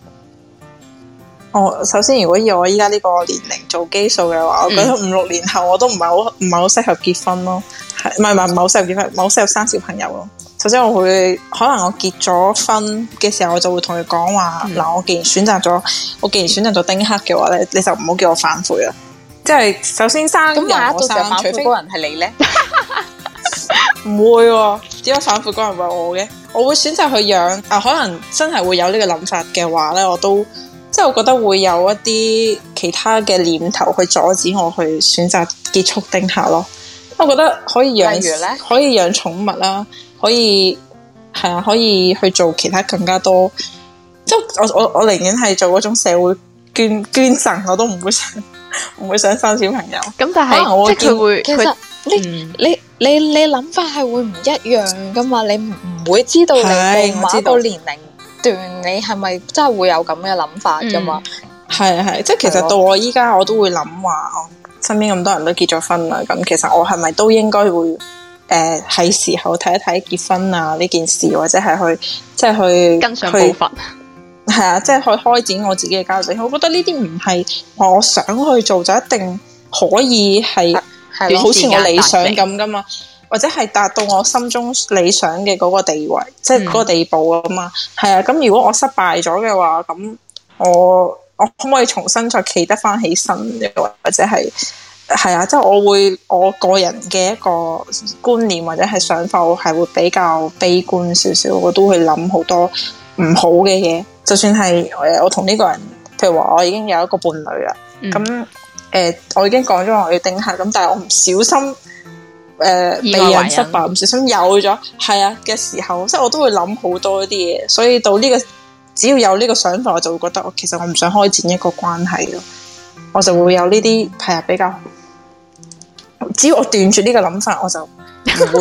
首先如果以我依家呢個年齡做基數嘅話，我覺得5-6年後我都唔係好適合結婚咯，唔係好適合結婚，唔係好適合生小朋友咯。首先我會可能我結咗婚嘅時候，我就會同佢講話嗱，我既然選擇咗丁克嘅話咧，你就唔好叫我反悔啦。即係首先生人我生， 除非嗰人係你咧， 唔會喎，點解反悔嗰人係我嘅？我會選擇去養可能真係會有呢個諗法嘅話咧，我都即係我覺得會有一啲其他嘅念頭去阻止我去選擇結束丁克咯。我覺得可以養寵物啦。可以去做其他更加多，即係我寧願係做嗰種社會捐贈，我都唔會想生小朋友。 咁但係即係佢會， 其實你諗法係會唔一樣噶嘛？你唔會知道你到某一個年齡段，你係咪真係會有咁嘅諗法噶嘛？ 係，即係其實到我依家我都會諗話，我身邊咁多人都結咗婚啦，咁其實我係咪都應該會？係時候睇一睇結婚啊呢件事，或者係去跟上步伐， 係啊，即係去開展我自己嘅家庭。我覺得呢啲唔係我想去做就一定可以係好似我理想咁噶嘛，或者係達到我心中理想嘅嗰個地位，即係嗰個地步啊嘛。係啊，咁如果我失敗咗嘅話，咁我可唔可以重新再企得翻起身嘅，或者係？係啊，即係我個人嘅一個觀念或者係想法，我係會比較悲觀少少，我都會諗好多唔好嘅嘢。就算係我同呢個人，譬如話我已經有一個伴侶啦，咁我已經講咗我要丁克，咁但係我唔小心避孕失敗，唔小心有咗係啊嘅時候，即係我都會諗好多啲嘢。所以到呢個只要有呢個想法，我就會覺得其實我唔想開展一個關係咯，我就會有呢啲係啊比較。只要我斷絕呢個諗法，我就唔會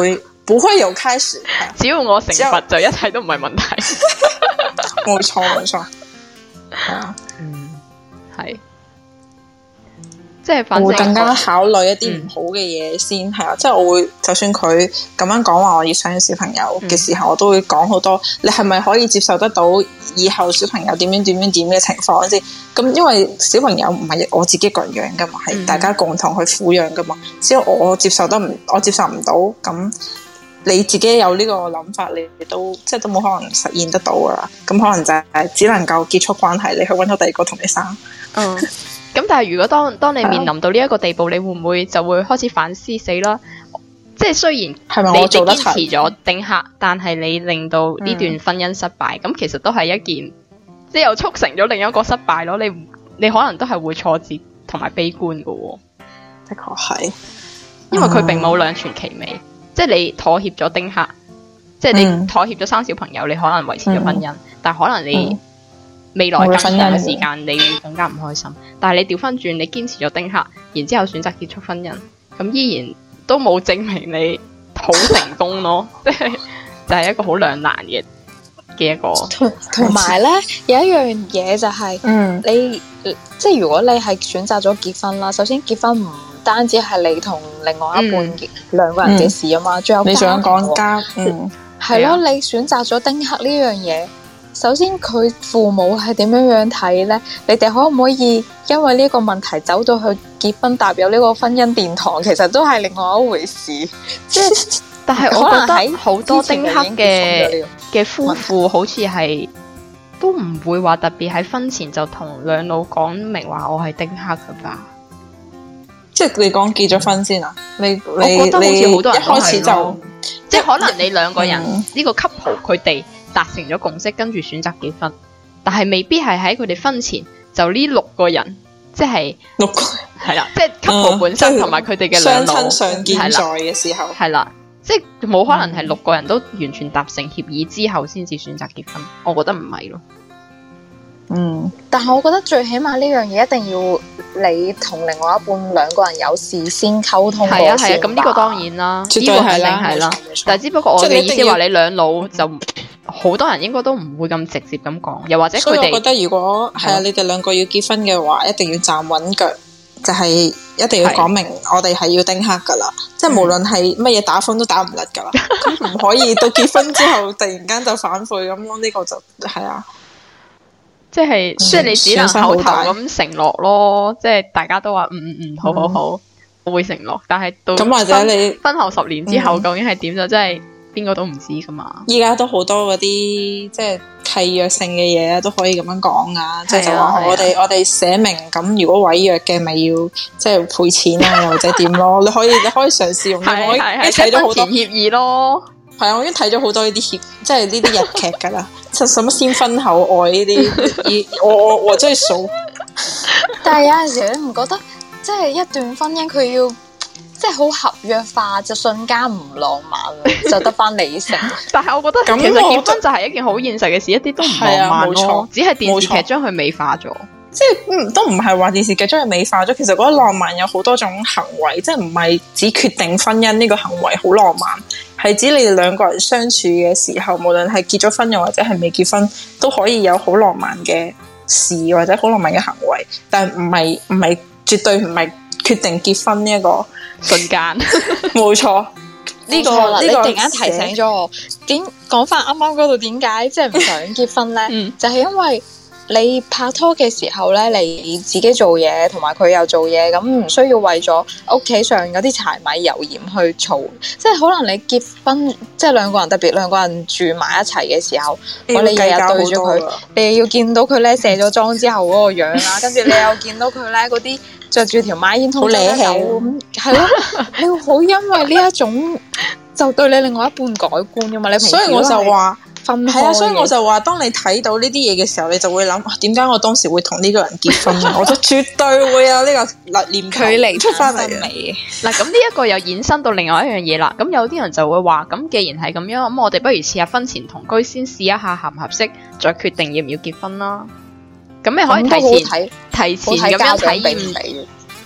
不會有開始。 只要我成佛就一切都唔係問題。 冇錯冇錯，係啊， 係。即係反正我會更加考慮一啲唔好嘅嘢先，係啊，即係我會就算佢咁樣講話我要想要小朋友嘅時候，我都會講好多，你係咪可以接受得到以後小朋友點樣嘅情況先？咁因為小朋友唔係我自己一個人養噶嘛，係大家共同去撫養噶嘛。只要我接受唔到，咁你自己有呢個諗法，你都即係都冇可能實現得到噶啦。咁可能就係只能夠結束關係，你去搵到第二個同你生。 咁但係如果當你面臨到呢一個地步，你會唔會就會開始反思死啦？即係雖然係咪我做得堅持咗丁克，但係你令到呢段婚姻失敗，咁其實都係一件即係又促成咗另一個失敗咯。你可能都係會挫折同埋悲觀噶喎。 的確係， 因為佢並冇兩全其美。即係你妥協咗丁克，即係你妥協咗生小朋友，你可能維持咗婚姻，但係可能你未來更長嘅時間，你會更加唔開心。但係你調翻轉，你堅持咗丁克，然之後選擇結束婚姻，咁依然都冇證明你好成功咯。即係就係一個好兩難嘅一個。 同埋咧，有一樣嘢就係、你即係如果你係選擇咗結婚啦，首先結婚唔單止係你同另外一半兩個人嘅事啊嘛，仲有你想講家， 係咯，你選擇咗丁克呢樣嘢。首先佢父母係點樣睇呢？你哋可唔可以因為呢個問題走到去結婚踏入呢個婚姻殿堂？其實都係另外一回事。即係， 但係我覺得好多丁克嘅夫婦好似係都唔會話特別喺婚前就同兩老講明話我係丁克噶吧？ 即係你講結咗婚先啊？ 我覺得好似好多人一開始就即係可能你兩個人呢個 couple 佢哋達成咗共識，跟住選擇結婚，但係未必係喺佢哋婚前就呢6個人，即係 6個係啦，即係 couple 本身同埋佢哋嘅兩老相親相見在嘅時候， 係啦，即係冇可能係6個人都完全達成協議之後先至選擇結婚，我覺得唔係咯。 但係我覺得最起碼呢樣嘢一定要你同另外一半兩個人有事先溝通過先。係啊， 咁呢個當然啦， 絕對係啦， 係啦。但係只不過我嘅意思話你兩老就好多人應該都唔會咁直接咁講，又或者佢哋。所以我覺得如果係啊，你哋兩個要結婚嘅話，一定要站穩腳，就係一定要講明我哋係要丁克噶啦，即係無論係乜嘢打風都打唔甩噶啦，咁唔可以到結婚之後突然間就反悔咁咯，呢個就係啊。 即係你只能口頭咁承諾咯，即係大家都話好，我會承諾，但係到咁或者你婚後10年之後究竟係點就真係邊個都唔知噶嘛。 依家都好多嗰啲即係契約性嘅嘢都可以咁樣講啊，即係就話我哋寫明咁，如果違約嘅咪要即係賠錢啊，或者點咯，你可以嘗試用。我已經睇咗好多協議咯。 係啊，我已經睇咗好多呢啲即係呢啲日劇噶啦，使乜先婚後愛呢啲，我真係數。 但係有陣時你唔覺得，即係一段婚姻佢要即係好合約化，就瞬間唔浪漫，就得翻理性。 但係我覺得其實結婚就係一件好現實嘅事，一啲都唔浪漫咯，只係電視劇將佢美化咗。 即係都唔係話電視劇將佢美化咗，其實嗰個浪漫有好多種行為，即係唔係只決定婚姻呢個行為好浪漫，係指你哋兩個人相處嘅時候，無論係結咗婚又或者係未結婚，都可以有好浪漫嘅事或者好浪漫嘅行為，但係唔係絕對唔係決定結婚呢一個瞬間。 冇錯， 呢個你突然間提醒咗我，點講翻啱啱嗰度點解即係唔想結婚咧？就係因為你拍拖嘅時候咧，你自己做嘢，同埋佢又做嘢，咁唔需要為咗屋企上嗰啲柴米油鹽去嘈。即係可能你結婚，即係兩個人，特別兩個人住埋一齊嘅時候，你日日對住佢，你要見到佢咧卸咗妝之後嗰個樣啦，跟住你又見到佢咧嗰啲着住條孖煙通走咁，係咯，你會好因為呢一種就對你另外一半改觀噶嘛？你平時所以我就話。係啊，所以我就話，當你睇到呢啲嘢嘅時候，你就會諗，點解我當時會同呢個人結婚？我就絕對會有呢個念距離出翻嚟嘅。 嗱，咁呢一個又衍生到另外一樣嘢啦。咁有啲人就會話，咁既然係咁樣，咁我哋不如試下婚前同居，先試一下合唔合適，再決定要唔要結婚啦。咁你可以提前咁樣體驗。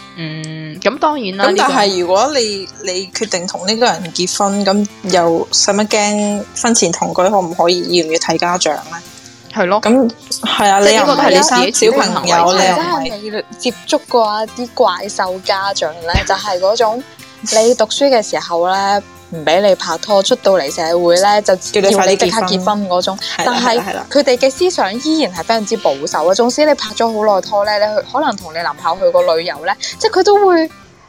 咁當然啦。 咁但係如果你決定同呢個人結婚，咁又使乜驚婚前同居可唔可以？要唔要睇家長咧？ 係咯。 咁係啊，你又唔係你生小朋友，你又真係未接觸過一啲怪獸家長咧，就係嗰種你讀書嘅時候咧，唔俾你拍拖，出到嚟社會咧就叫你即刻結婚嗰種。但係佢哋嘅思想依然係非常之保守啊！縱使你拍咗好耐拖咧，你可能同你男朋友去過旅遊咧，即係佢都會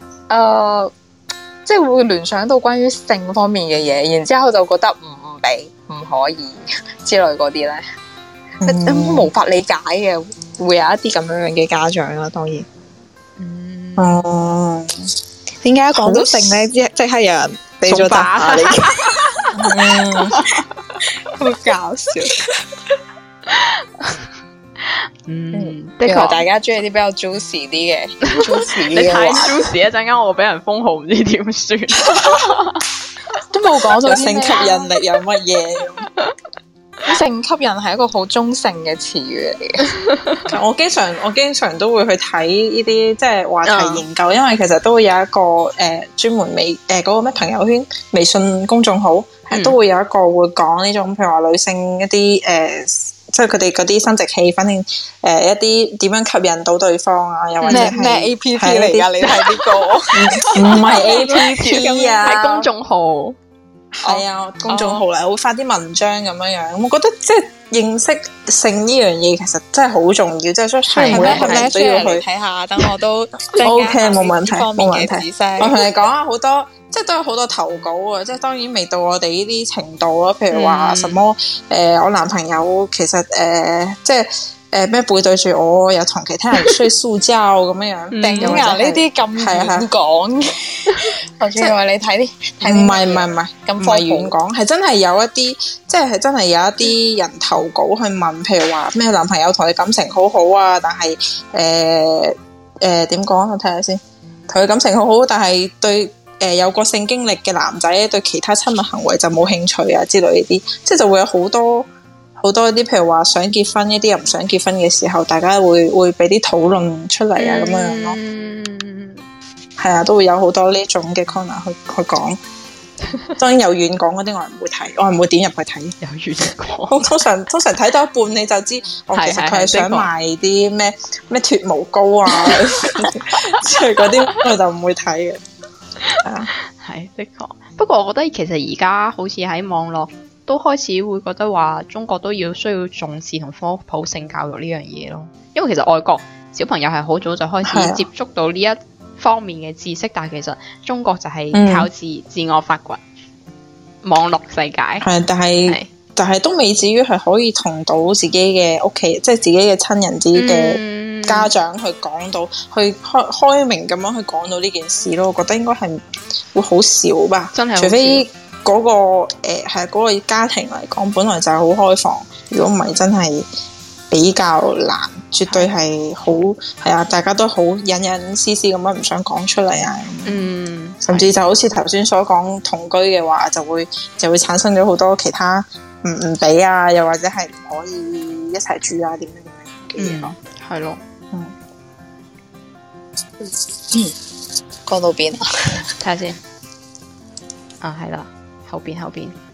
即係會聯想到關於性方面嘅嘢，然之後就覺得唔俾唔可以之類嗰啲咧，無法理解嘅，會有一啲咁樣嘅家長啦。當然，點解講到性咧，即刻有人俾咗答你？好搞笑。的確大家中意啲比較 juicy 啲嘅，juicy 你太 juicy 一陣間我俾人封號，唔知點算。 都冇講到性吸引力有乜嘢？ 性吸引係一個好中性嘅詞語嚟嘅。 我經常都會去睇呢啲即係話題研究，因為其實都會有一個專門嗰個咩朋友圈微信公眾號，都會有一個會講呢種譬如話女性一啲即係佢哋嗰啲生殖器，反正一啲點樣吸引到對方啊，又或者係咩 A P P 嚟㗎？你睇呢個唔係 A P P 啊， 係公眾號。 係啊，公眾號嚟，會發啲文章咁樣樣。我覺得即係認識性呢樣嘢，其實真係好重要。即係雖然每一個人都要去睇下，等我都 OK 冇問題，冇問題。我同你講下好多，即係都有好多投稿啊！即係當然未到我哋呢啲程度啊。譬如話什麼我男朋友其實即係。咩背對住我，又同其他人睡塑膠咁樣樣， 頂啊！呢啲咁遠講，即係話你睇啲， 唔係咁遠講，係真係有一啲，即係真係有一啲人投稿去問，譬如話咩男朋友同你感情好好啊，但係點講？我睇下先，同佢感情好好，但係對有過性經歷嘅男仔對其他親密行為就冇興趣啊之類呢啲，即係就會有好多啲，譬如話想結婚，一啲又唔想結婚嘅時候，大家會俾啲討論出嚟啊，咁樣咯。係啊，都會有好多呢種嘅 corner 去講。當然有遠講嗰啲我係唔會睇，我係唔會點入去睇。 有遠講， 通常睇到一半你就知，其實佢係想賣啲咩脫毛膏啊，即係嗰啲我就唔會睇嘅。 係的確，不過我覺得其實而家好似喺網絡。都開始會覺得話中國都需要重視同科普性教育呢樣嘢咯，因為其實外國小朋友係好早就開始接觸到呢一方面嘅知識，但係其實中國就係靠自我發掘，網絡世界係，但係都未至於係可以同到自己嘅屋企，即係自己嘅親人、自己嘅家長去講到，去開明咁樣去講到呢件事咯。我覺得應該係會好少吧， 真係除非。嗰個係嗰個家庭嚟講，本來就係好開放。如果唔係，真係比較難，絕對係好係啊！大家都好隱隱私私咁樣唔想講出嚟啊。甚至就好似頭先所講同居嘅話，就會產生咗好多其他唔俾啊，又或者係唔可以一齊住啊，點樣嘅嘢咯。 係咯， 講到邊啊？ 睇下先。啊，係啦。後邊，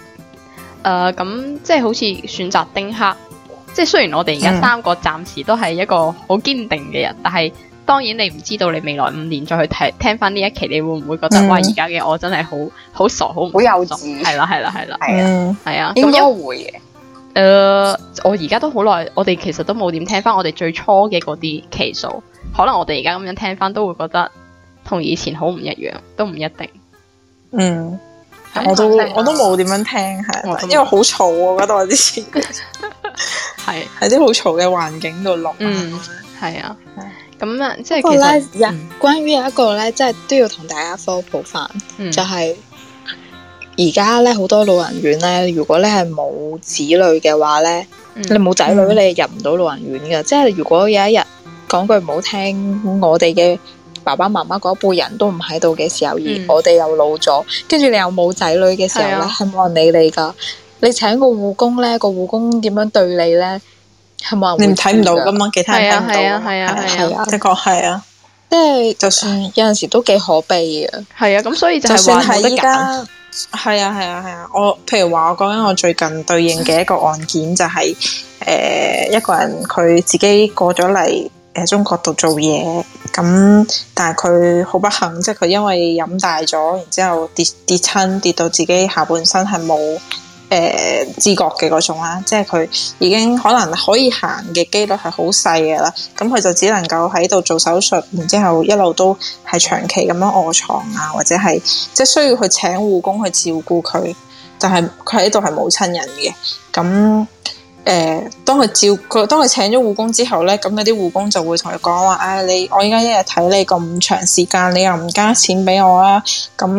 咁即係好似選擇丁克，即係雖然我哋而家三個暫時都係一個好堅定嘅人，但係當然你唔知道你未來5年再去聽翻呢一期，你會唔會覺得哇，而家嘅我真係好傻，好幼稚？係啦，係啊， 應該會嘅。我而家都好耐，我哋其實都冇點聽翻我哋最初嘅嗰啲期數，可能我哋而家咁樣聽翻都會覺得同以前好唔一樣，都唔一定。 我都冇點樣聽，係因為好嘈，我覺得我之前係喺啲好嘈嘅環境度錄。 係啊，咁啊，即係其實關於有一個咧，即係都要同大家科普翻，就係而家咧好多老人院咧，如果你係冇子女嘅話咧，你冇仔女你入唔到老人院嘅。即係如果有一日講句唔好聽，我哋嘅爸爸媽媽嗰一輩人都唔喺度嘅時候，而我哋又老咗，跟住你又冇仔女嘅時候咧，係冇人理你噶。你請個護工咧，個護工點樣對你咧，係冇人會。 你睇唔到噶嘛？其他人睇唔到。 係啊， 的確係啊。 即係就算有陣時都幾可悲嘅。 係啊，咁所以就係就算話冇得揀。 係依家，係啊，我譬如話我講緊我最近對應嘅一個案件就係、一個人佢自己過咗嚟中國度做嘢，咁但係佢好不幸，即係佢因為飲大咗，然之後跌親，跌到自己下半身係冇知覺嘅嗰種啦，即係佢已經可能可以行嘅機率係好細嘅啦，咁佢就只能夠喺度做手術，然之後一路都係長期咁樣臥床啊，或者係即係需要去請護工去照顧佢，但係佢喺度係冇親人嘅，咁當佢請咗護工之後咧，咁有啲護工就會同佢講話，我依家一日睇你咁長時間，你又唔加錢俾我啊，咁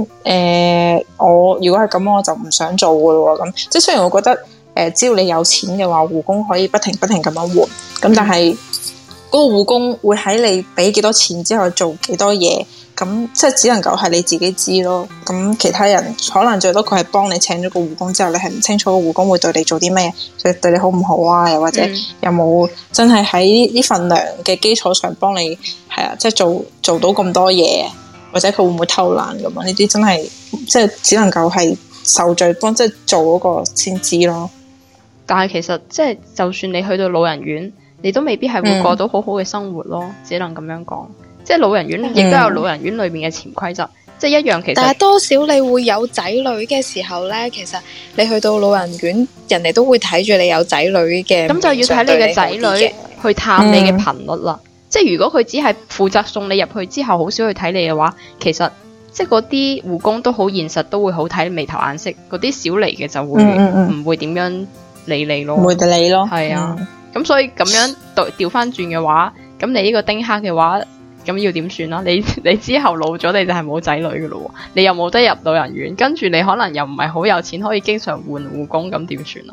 我如果係咁，我就唔想做噶咯，咁即係雖然我覺得只要你有錢嘅話，護工可以不停咁樣換，咁但係嗰個護工會喺你俾幾多錢之後做幾多嘢。咁即係只能夠係你自己知咯，咁其他人可能最多佢係幫你請咗個護工之後，你係唔清楚個護工會對你做啲咩，對你好唔好啊？又或者有冇真係喺呢份糧嘅基礎上幫你係啊，即係做到咁多嘢，或者佢會唔會偷懶咁啊？呢啲真係即係只能夠係受罪幫即係做嗰個先知咯。 但係其實即係就算你去到老人院，你都未必係會過到好好嘅生活咯，只能咁樣講。即係老人院亦都有老人院裏面嘅潛規則，即係一樣其實。但係多少你會有仔女嘅時候咧，其實你去到老人院，人哋都會睇住你有仔女嘅。咁就要睇你嘅仔女去探你嘅頻率啦。即係如果佢只係負責送你入去之後，好少去睇你嘅話，其實即係嗰啲護工都好現實，都會好睇眉頭眼色。嗰啲少嚟嘅就會唔會點樣理你咯，唔會理你咯。係啊，咁所以咁樣調翻轉嘅話，咁你呢個丁克嘅話。咁要點算啦？你之後老咗，你就係冇仔女噶咯，你又冇得入老人院，跟住你可能又唔係好有錢，可以經常換護工，咁點算啊？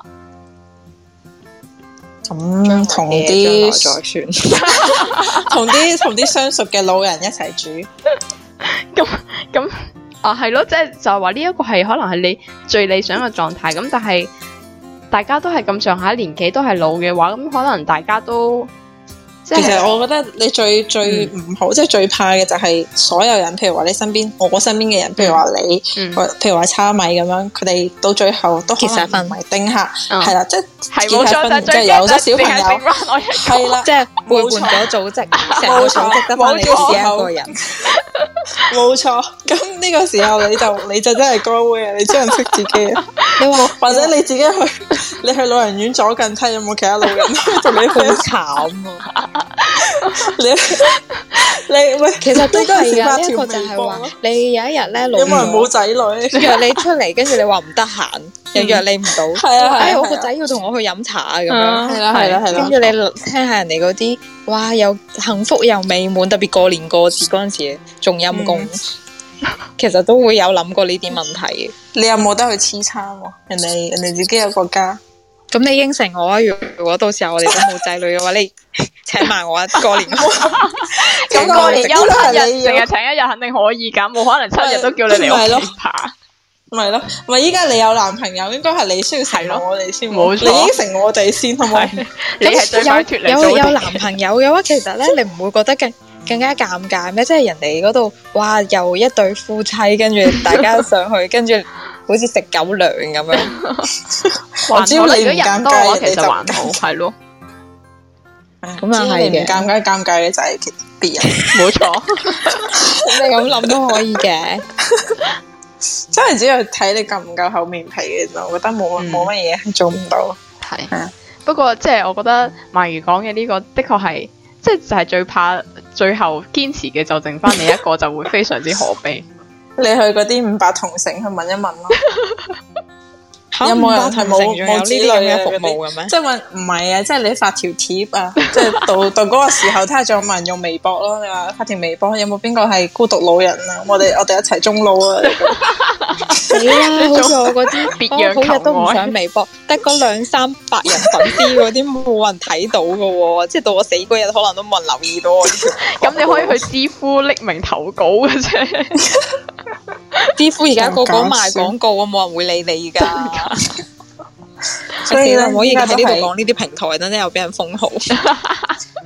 咁同啲再算，同啲相熟嘅老人一齊住。咁啊，係咯，即係就係話呢一個係可能係你最理想嘅狀態。咁但係大家都係咁上下年紀，都係老嘅話，咁可能大家都。其實我覺得你最唔好，即係最怕嘅就係所有人，譬如話你身邊，我身邊嘅人，譬如話你，譬如話叉米咁樣，佢哋到最後都可能唔係丁克，係啦，即係冇錯，即係有咗小朋友，係啦，即係背叛咗組織，成個組織得翻你自己一個人，冇錯。咁呢個時候你就真係高危啊！你只能識自己啊！你話或者你自己你去老人院左近睇有冇其他老人同你好慘啊！你喂，其實都係啊，呢一個就係話你有一日咧老咗，因為冇仔女，約你出嚟，跟住你話唔得閒，又約你唔到，係啊，我個仔要同我去飲茶啊，咁樣，係啦，跟住你聽下人哋嗰啲，哇，又幸福又美滿，特別過年過節嗰陣時仲陰公，其實都會有諗過呢啲問題嘅。你有冇得去黐餐？人哋自己有個家。咁你應承我啊！如果到時候我哋都冇仔女嘅話，你請埋我啊！過年咁過年休7日，淨係請1日肯定可以㗎，冇可能7日都叫你嚟屋企爬。咪咯，咪依家你有男朋友，應該係你需要承諾我哋先，冇錯，你應承我哋先，好唔好？你係最快脫離有男朋友嘅話，其實咧你唔會覺得更加尷尬咩？即係人哋嗰度，哇，又一對夫妻，跟住大家上去，跟住好似食狗糧咁樣。只要你唔尷尬，其實還好，係咯。咁啊係嘅，尷尬嘅就係別人，冇錯。咁你咁諗都可以嘅。真係只係睇你夠唔夠厚面皮嘅啫，我覺得冇乜嘢係做唔到。係，不過即係我覺得鰻魚講嘅呢個的確係，即係就係最怕最後堅持嘅就剩翻你一個，就會非常之可悲。你去嗰啲500同城去問一問咯。有冇人係冇呢啲咁嘅服務嘅咩？即係問唔係啊，即係你發條貼啊，即係到嗰個時候睇下仲有冇人用微博咯。你話發條微博，有冇邊個係孤獨老人啊？我哋一齊終老啊！死啦！好似我嗰啲別樣求愛，好日都唔上微博，得嗰200-300人粉絲嗰啲冇人睇到噶喎，即係到我死嗰日可能都冇人留意到我。咁你可以去知乎匿名投稿嘅啫。知乎而家個個賣廣告啊，冇人會理你噶。所以唔可以喺呢度講呢啲平台，等陣又俾人封號。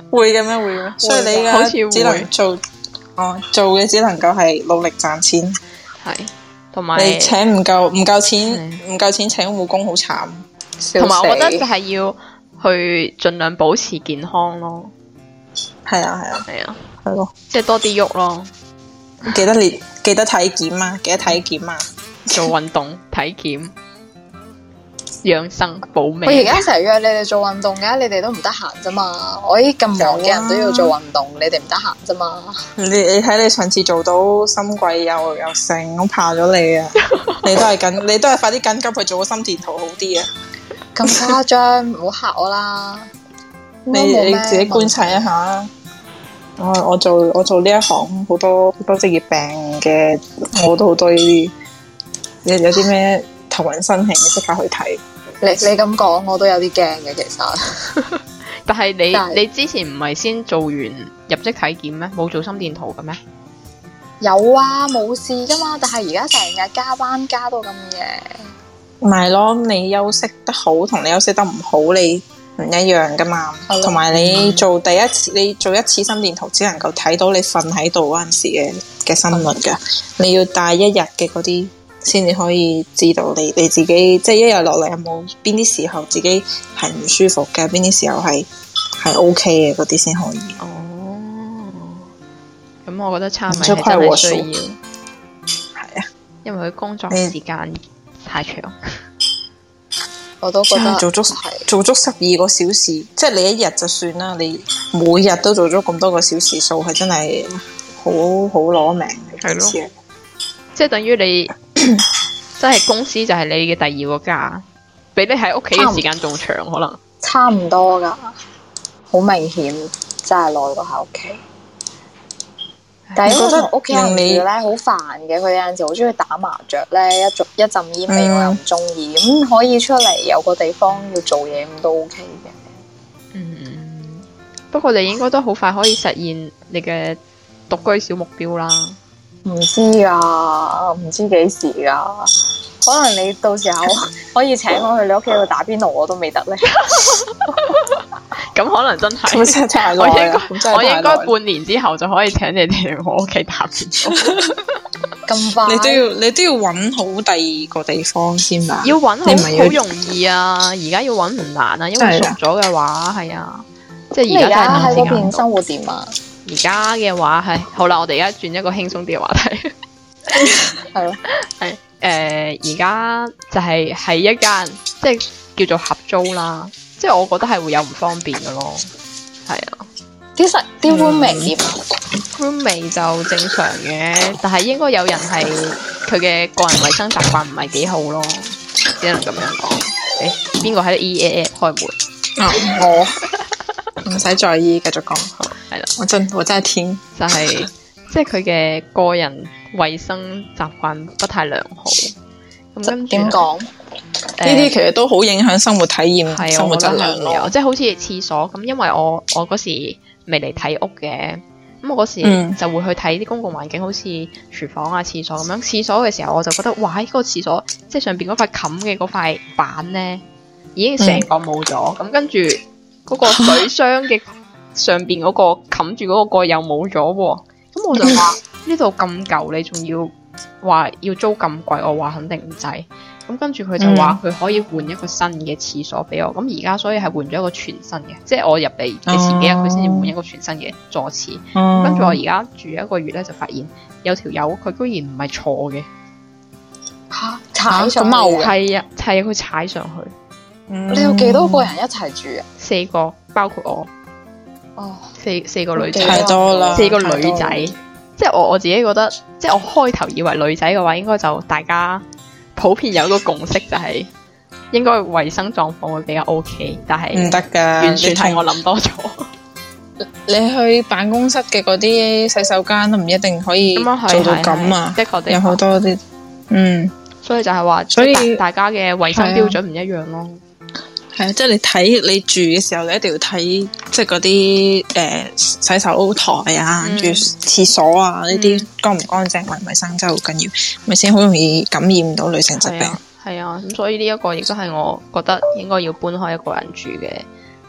會嘅咩？會嘅咩？所以你好似會嘅只能做嘅只能夠係努力賺錢。 係，同埋你請唔夠錢請護工好慘。 同埋我覺得就係要去盡量保持健康咯。 係啊，係咯， 即係多啲喐咯。 記得體檢啊， 做運動、體檢、養生、保命。 我而家成日約你哋做運動嘅，你哋都唔得閒啫嘛。我啲咁忙嘅人都要做運動，你哋唔得閒啫嘛。 你睇你上次做到心悸又成，我怕咗你啊！你都係快啲緊急去做個心電圖好啲啊！ 咁誇張，唔好嚇我啦！ 你自己觀察一下。我做呢一行好多職業病嘅，我都好多呢啲。有啲咩頭暈身㷫，即刻去睇。 你咁講，我都有啲驚嘅，其實。 但係你之前唔係先做完入職體檢咩？冇做心電圖嘅咩？ 有啊，冇事噶嘛。但係而家成日加班加到咁夜。 唔係咯，你休息得好同你休息得唔好，你唔一樣噶嘛。同埋你做一次心電圖，只能夠睇到你瞓喺度嗰陣時嘅心率噶。你要帶一日嘅嗰啲，先至可以知道你自己，即係一日落嚟有冇邊啲時候自己係唔舒服嘅，邊啲時候係 OK 嘅嗰啲先可以。 哦，咁我覺得參米係真係需要。 係啊， 因為佢工作時間太長。 我都覺得做足12個小時，即係你一日就算啦，你每日都做咗咁多個小時數，係真係好攞命嘅。 係咯，即係等於你真係公司就係你嘅第二個家，比你喺屋企嘅時間仲長，可能差唔多噶，好明顯真係耐過喺屋企。但係因為同屋企人住咧好煩嘅，佢有陣時好中意打麻雀咧，一陣煙味我又唔中意，咁可以出嚟有個地方要做嘢咁都 OK 嘅。 不過你應該都好快可以實現你嘅獨居小目標啦。 唔知啊，唔知幾時噶，可能你到時候可以請我去你屋企度打邊爐，我都未得咧。 咁可能真係，我應該半年之後就可以請你哋去我屋企打邊爐。 咁快？ 你都要揾好第二個地方先吧？ 要揾好容易啊！而家要揾唔難啊，因為熟咗嘅話係啊，即係而家真係喺嗰邊生活點啊？ 而家嘅話係好啦，我哋而家轉一個輕鬆啲嘅話題。 係咯， 係而家就係喺一間即係叫做合租啦，即係我覺得係會有唔方便嘅咯。係啊， 啲 roommate 點啊 ？roommate 就正常嘅，但係應該有人係佢嘅個人衛生習慣唔係幾好咯，只能咁樣講。邊個喺度 EA 開門？ 我唔使在意，繼續講。 係啦， 我真係聽， 就係即係佢嘅個人衛生習慣不太良好。咁跟住點講？ 呢啲其實都好影響生活體驗、 係生活質量咯。 即係好似廁所咁，因為我嗰時未嚟睇屋嘅，咁我嗰時就會去睇啲公共環境，好似廚房啊、廁所咁樣。廁所嘅時候我就覺得，哇！嗰個廁所即係上邊嗰塊冚嘅嗰塊板咧，已經成個冇咗。咁跟住嗰個水箱嘅上邊嗰個冚住嗰個蓋又冇咗喎。咁我就話呢度咁舊，你仲要話要租咁貴？我話肯定唔制。咁跟住佢就話佢可以換一個新嘅廁所俾我。咁而家所以係換咗一個全新嘅，即係我入嚟嘅前幾日佢先至換一個全新嘅座廁。跟住我而家住一個月咧，就發現有條友佢居然唔係坐嘅， 踩上去係啊，係佢踩上去。 你有幾多個人一齊住啊 ？4個，包括我。 哦， 四個女仔， 太多啦 ，4個女仔。即係我自己覺得，即係我開頭以為女仔嘅話，應該就大家普遍有一個共識，就係應該衛生狀況會比較 OK， 但係唔得噶， 完全係我諗多咗。 你去辦公室嘅嗰啲洗手間都唔一定可以做到咁啊， 的確有好多啲， 所以就係話，所以大家嘅衛生標準唔一樣咯。 係啊，即係你睇你住嘅時候，你一定要睇即係嗰啲洗手台啊，跟住廁所啊呢啲乾唔乾淨、衛唔衛生真係好緊要，咪先好容易感染到女性疾病。 係啊，咁所以呢一個亦都係我覺得應該要搬開一個人住嘅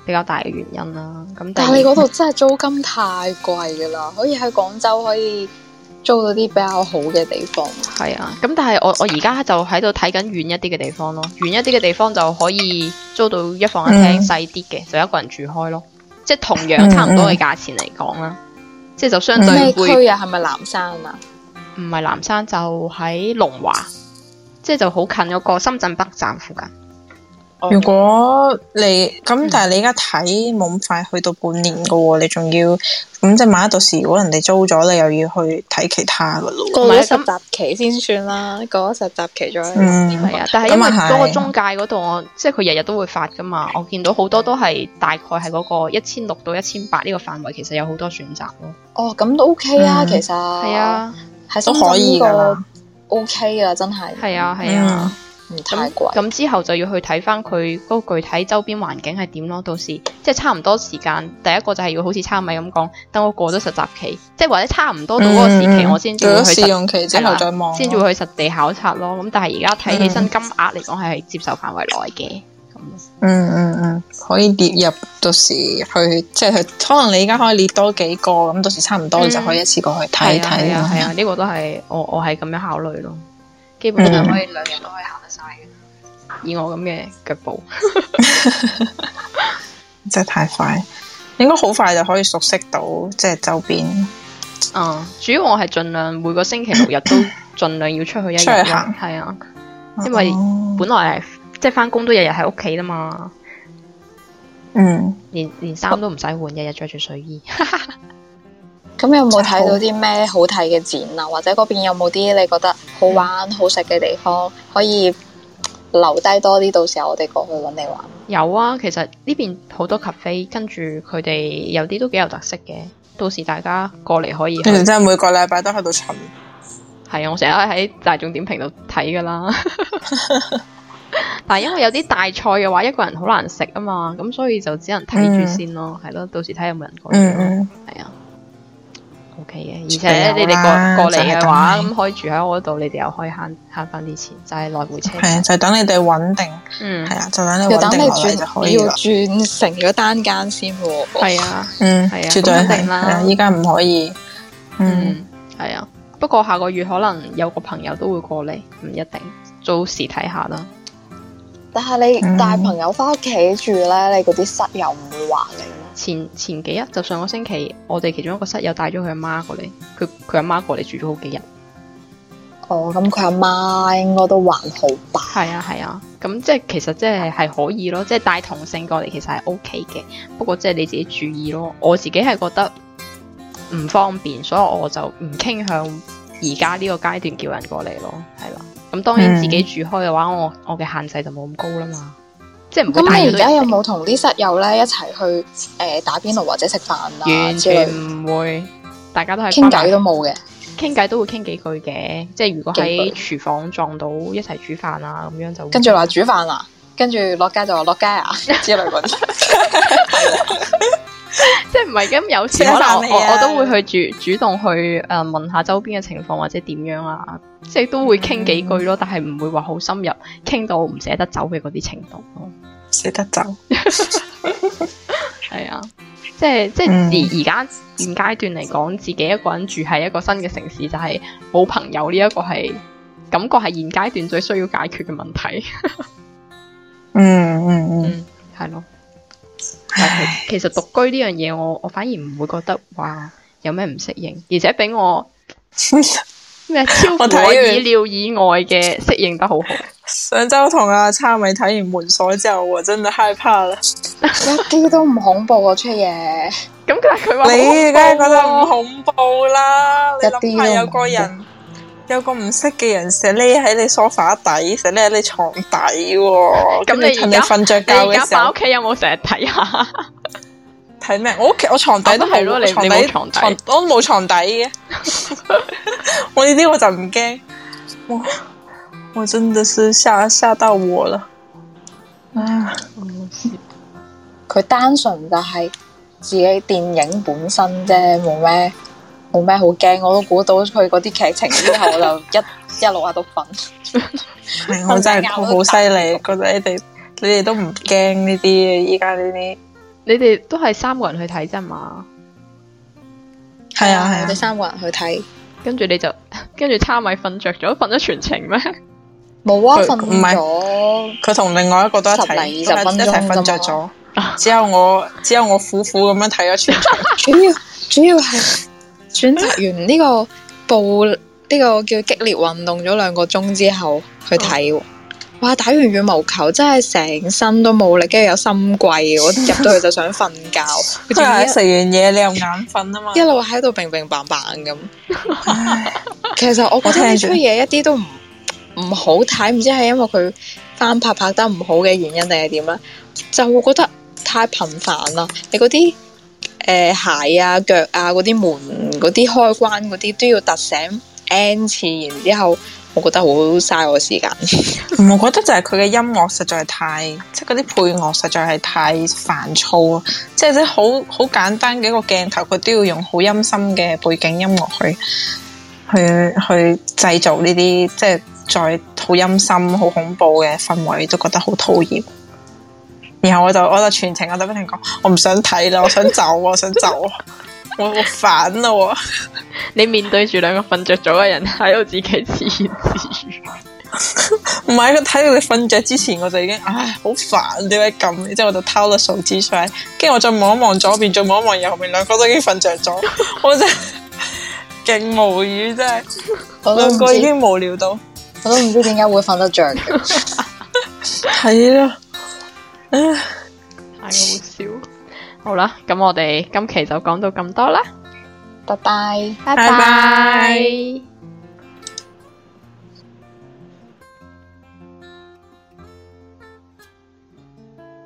比較大嘅原因啦。咁但係你嗰度真係租金太貴噶啦，可以喺廣州可以租到啲比較好嘅地方。 係啊，咁但係我而家就喺度睇緊遠一啲嘅地方咯，遠一啲嘅地方就可以租到一房一廳細啲嘅，就一個人住開咯，即係同樣差唔多嘅價錢嚟講啦，即係就相對會。 咩區啊？係咪南山啊？ 唔係南山，就喺龍華，即係就好近嗰個深圳北站附近。 如果你咁，但係你而家睇冇咁快去到半年噶喎，你仲要咁即係萬一到時如果人哋租咗，你又要去睇其他噶咯。 過咗實習期先算啦，過咗實習期再。 係啊，但係因為嗰個中介嗰度，我即係佢日日都會發噶嘛，我見到好多都係大概係嗰個1600到1800呢個範圍，其實有好多選擇咯。 哦，咁都 OK 啊，其實係啊， 係都可以噶，OK 啊，真係。 係啊，係啊。 唔太貴。 咁之後就要去睇翻佢嗰個具體周邊環境係點咯。到時即係差唔多時間，第一個就係要好似差米咁講，等我過咗實習期，即係或者差唔多到嗰個時期，我先至會去試用期之後再望， 先至會去實地考察咯。咁但係而家睇起身金額嚟講係接受範圍內嘅。 可以列入到時去，即係可能你而家可以列多幾個，咁到時差唔多你就可以一次過去睇睇。 係啊，呢個都係我係咁樣考慮咯。基本上可以2日都可以行得晒嘅，以我咁嘅腳步， 真係太快，應該好快就可以熟悉到即係周邊。 主要我係盡量每個星期6日都盡量要出去一日行，係啊，因為本來係即係翻工都日日喺屋企啦嘛，連衫都唔使換，日日着住睡衣。 咁有冇睇到啲咩好睇嘅展啊？或者嗰邊有冇啲你覺得好玩、好食嘅地方可以留低多啲？到時候我哋過去揾你玩。有啊，其實呢邊好多 cafe， 跟住佢哋有啲都幾有特色嘅。到時大家過嚟可以。 你哋真係每個禮拜都喺度巡。 係啊，我成日喺大眾點評度睇噶啦。但係因為有啲大菜嘅話，一個人好難食啊嘛，咁所以就只能睇住先咯。係咯，到時睇有冇人過嚟。係啊。OK 嘅，而且你哋過嚟嘅話，咁可以住喺我嗰度，你哋又可以慳翻啲錢，就係來回車。 係啊，就等你哋穩定。係啊，就等你穩定落嚟就可以啦。 要轉成咗單間先喎。 係啊， 係啊，絕對係啦。依家唔可以。 係啊。不過下個月可能有個朋友都會過嚟，唔一定，到時睇下啦。 但係你帶朋友翻屋企住咧，你嗰啲室友唔會話你咩？ 前幾日就上個星期，我哋其中一個室友帶咗佢阿媽過嚟，佢阿媽過嚟住咗好幾日。 哦，咁佢阿媽應該都還好吧？ 係啊，咁即係其實即係可以咯，即係帶同性過嚟其實係 OK 嘅。不過即係你自己注意咯，我自己係覺得唔方便，所以我就唔傾向而家呢個階段叫人過嚟咯，係啦。咁當然自己住開嘅話，我嘅限制就冇咁高啦嘛。即係唔會帶。咁你而家有冇同啲室友咧一齊去打邊爐或者一齊食飯啊？ 完全唔會，大家都係傾偈都冇嘅。 傾偈都會傾幾句嘅，即係如果喺廚房撞到一齊煮飯啊咁樣就。 跟住話煮飯啊，跟住落街就話落街啊之類嗰啲。 即係唔係咁有時可能我都會去主動去問下周邊嘅情況或者點樣啊，即係都會傾幾句咯，但係唔會話好深入，傾到唔捨得走嘅嗰啲程度咯。 捨得走， 係啊，即係而家現階段嚟講，自己一個人住喺一個新嘅城市，就係冇朋友呢一個係感覺係現階段最需要解決嘅問題。係咯。但係其實獨居呢樣嘢，我反而唔會覺得話有咩唔適應，而且俾我咩超乎我意料以外嘅適應得好好。 上周同阿差米睇完門鎖之後，我真係害怕啦， 一啲都唔恐怖啊！出嘢咁佢話你梗係覺得唔恐怖啦，你諗下有個人。有個唔識嘅人成日匿喺你梳化底，成日匿喺你床底喎。咁你瞓着覺嘅時候，你而家返屋企有冇成日睇下？ 睇咩？我床底都係咯，你冇床底，我都冇床底嘅。我呢啲我就唔驚。我真的是嚇到我了。 佢單純就係自己電影本身啫，冇咩好驚，我都估到佢嗰啲劇情之後，我就一路喺度瞓。 我真係好犀利，覺得你哋都唔驚呢啲，依家呢啲。 你哋都係3個人去睇啫嘛？ 係啊係啊， 我哋3個人去睇， 跟住差米瞓着咗，瞓咗全程咩？ 冇啊，瞓唔係咗佢同另外一個都一齊 10零20分鐘一齊瞓着咗，只有我苦苦咁樣睇咗全場。 主要係選擇完呢個叫激烈運動咗2個鐘之後去睇，哇！打完羽毛球真係成身都冇力，跟住有心悸，我入到去就想瞓覺。 佢係食完嘢你又眼瞓啊嘛， 一路喺度乒乒乓乓咁。其實我覺得呢出嘢一啲都唔好睇，唔知係因為佢翻拍得唔好嘅原因定係點咧？就會覺得太頻繁啦。你嗰啲鞋啊、腳啊、嗰啲門、嗰啲開關嗰啲都要突醒 N 次，然之後我覺得好嘥我時間。 我覺得就係佢嘅音樂實在係太，即係嗰啲配樂實在係太煩躁啊！即係好簡單嘅一個鏡頭，佢都要用好陰森嘅背景音樂去製造呢啲，即係再好陰森、好恐怖嘅氛圍，都覺得好討厭。然後我就全程我就不停講，我唔想睇啦，我想走，我想走，我煩啦！ 你面對住2個瞓着咗嘅人喺度自己自言自語。 唔係，佢睇到你瞓着之前，我就已經好煩，點解咁？之後我就偷咗數字出嚟，跟住我再望一望左邊，再望一望右邊，2個都已經瞓着咗，我真係勁無語，真係2個已經無聊到， 我都唔知點解會瞓得着嘅。 係啊。 太好笑。好啦，咁我哋今期就講到咁多啦， 拜拜。 拜拜。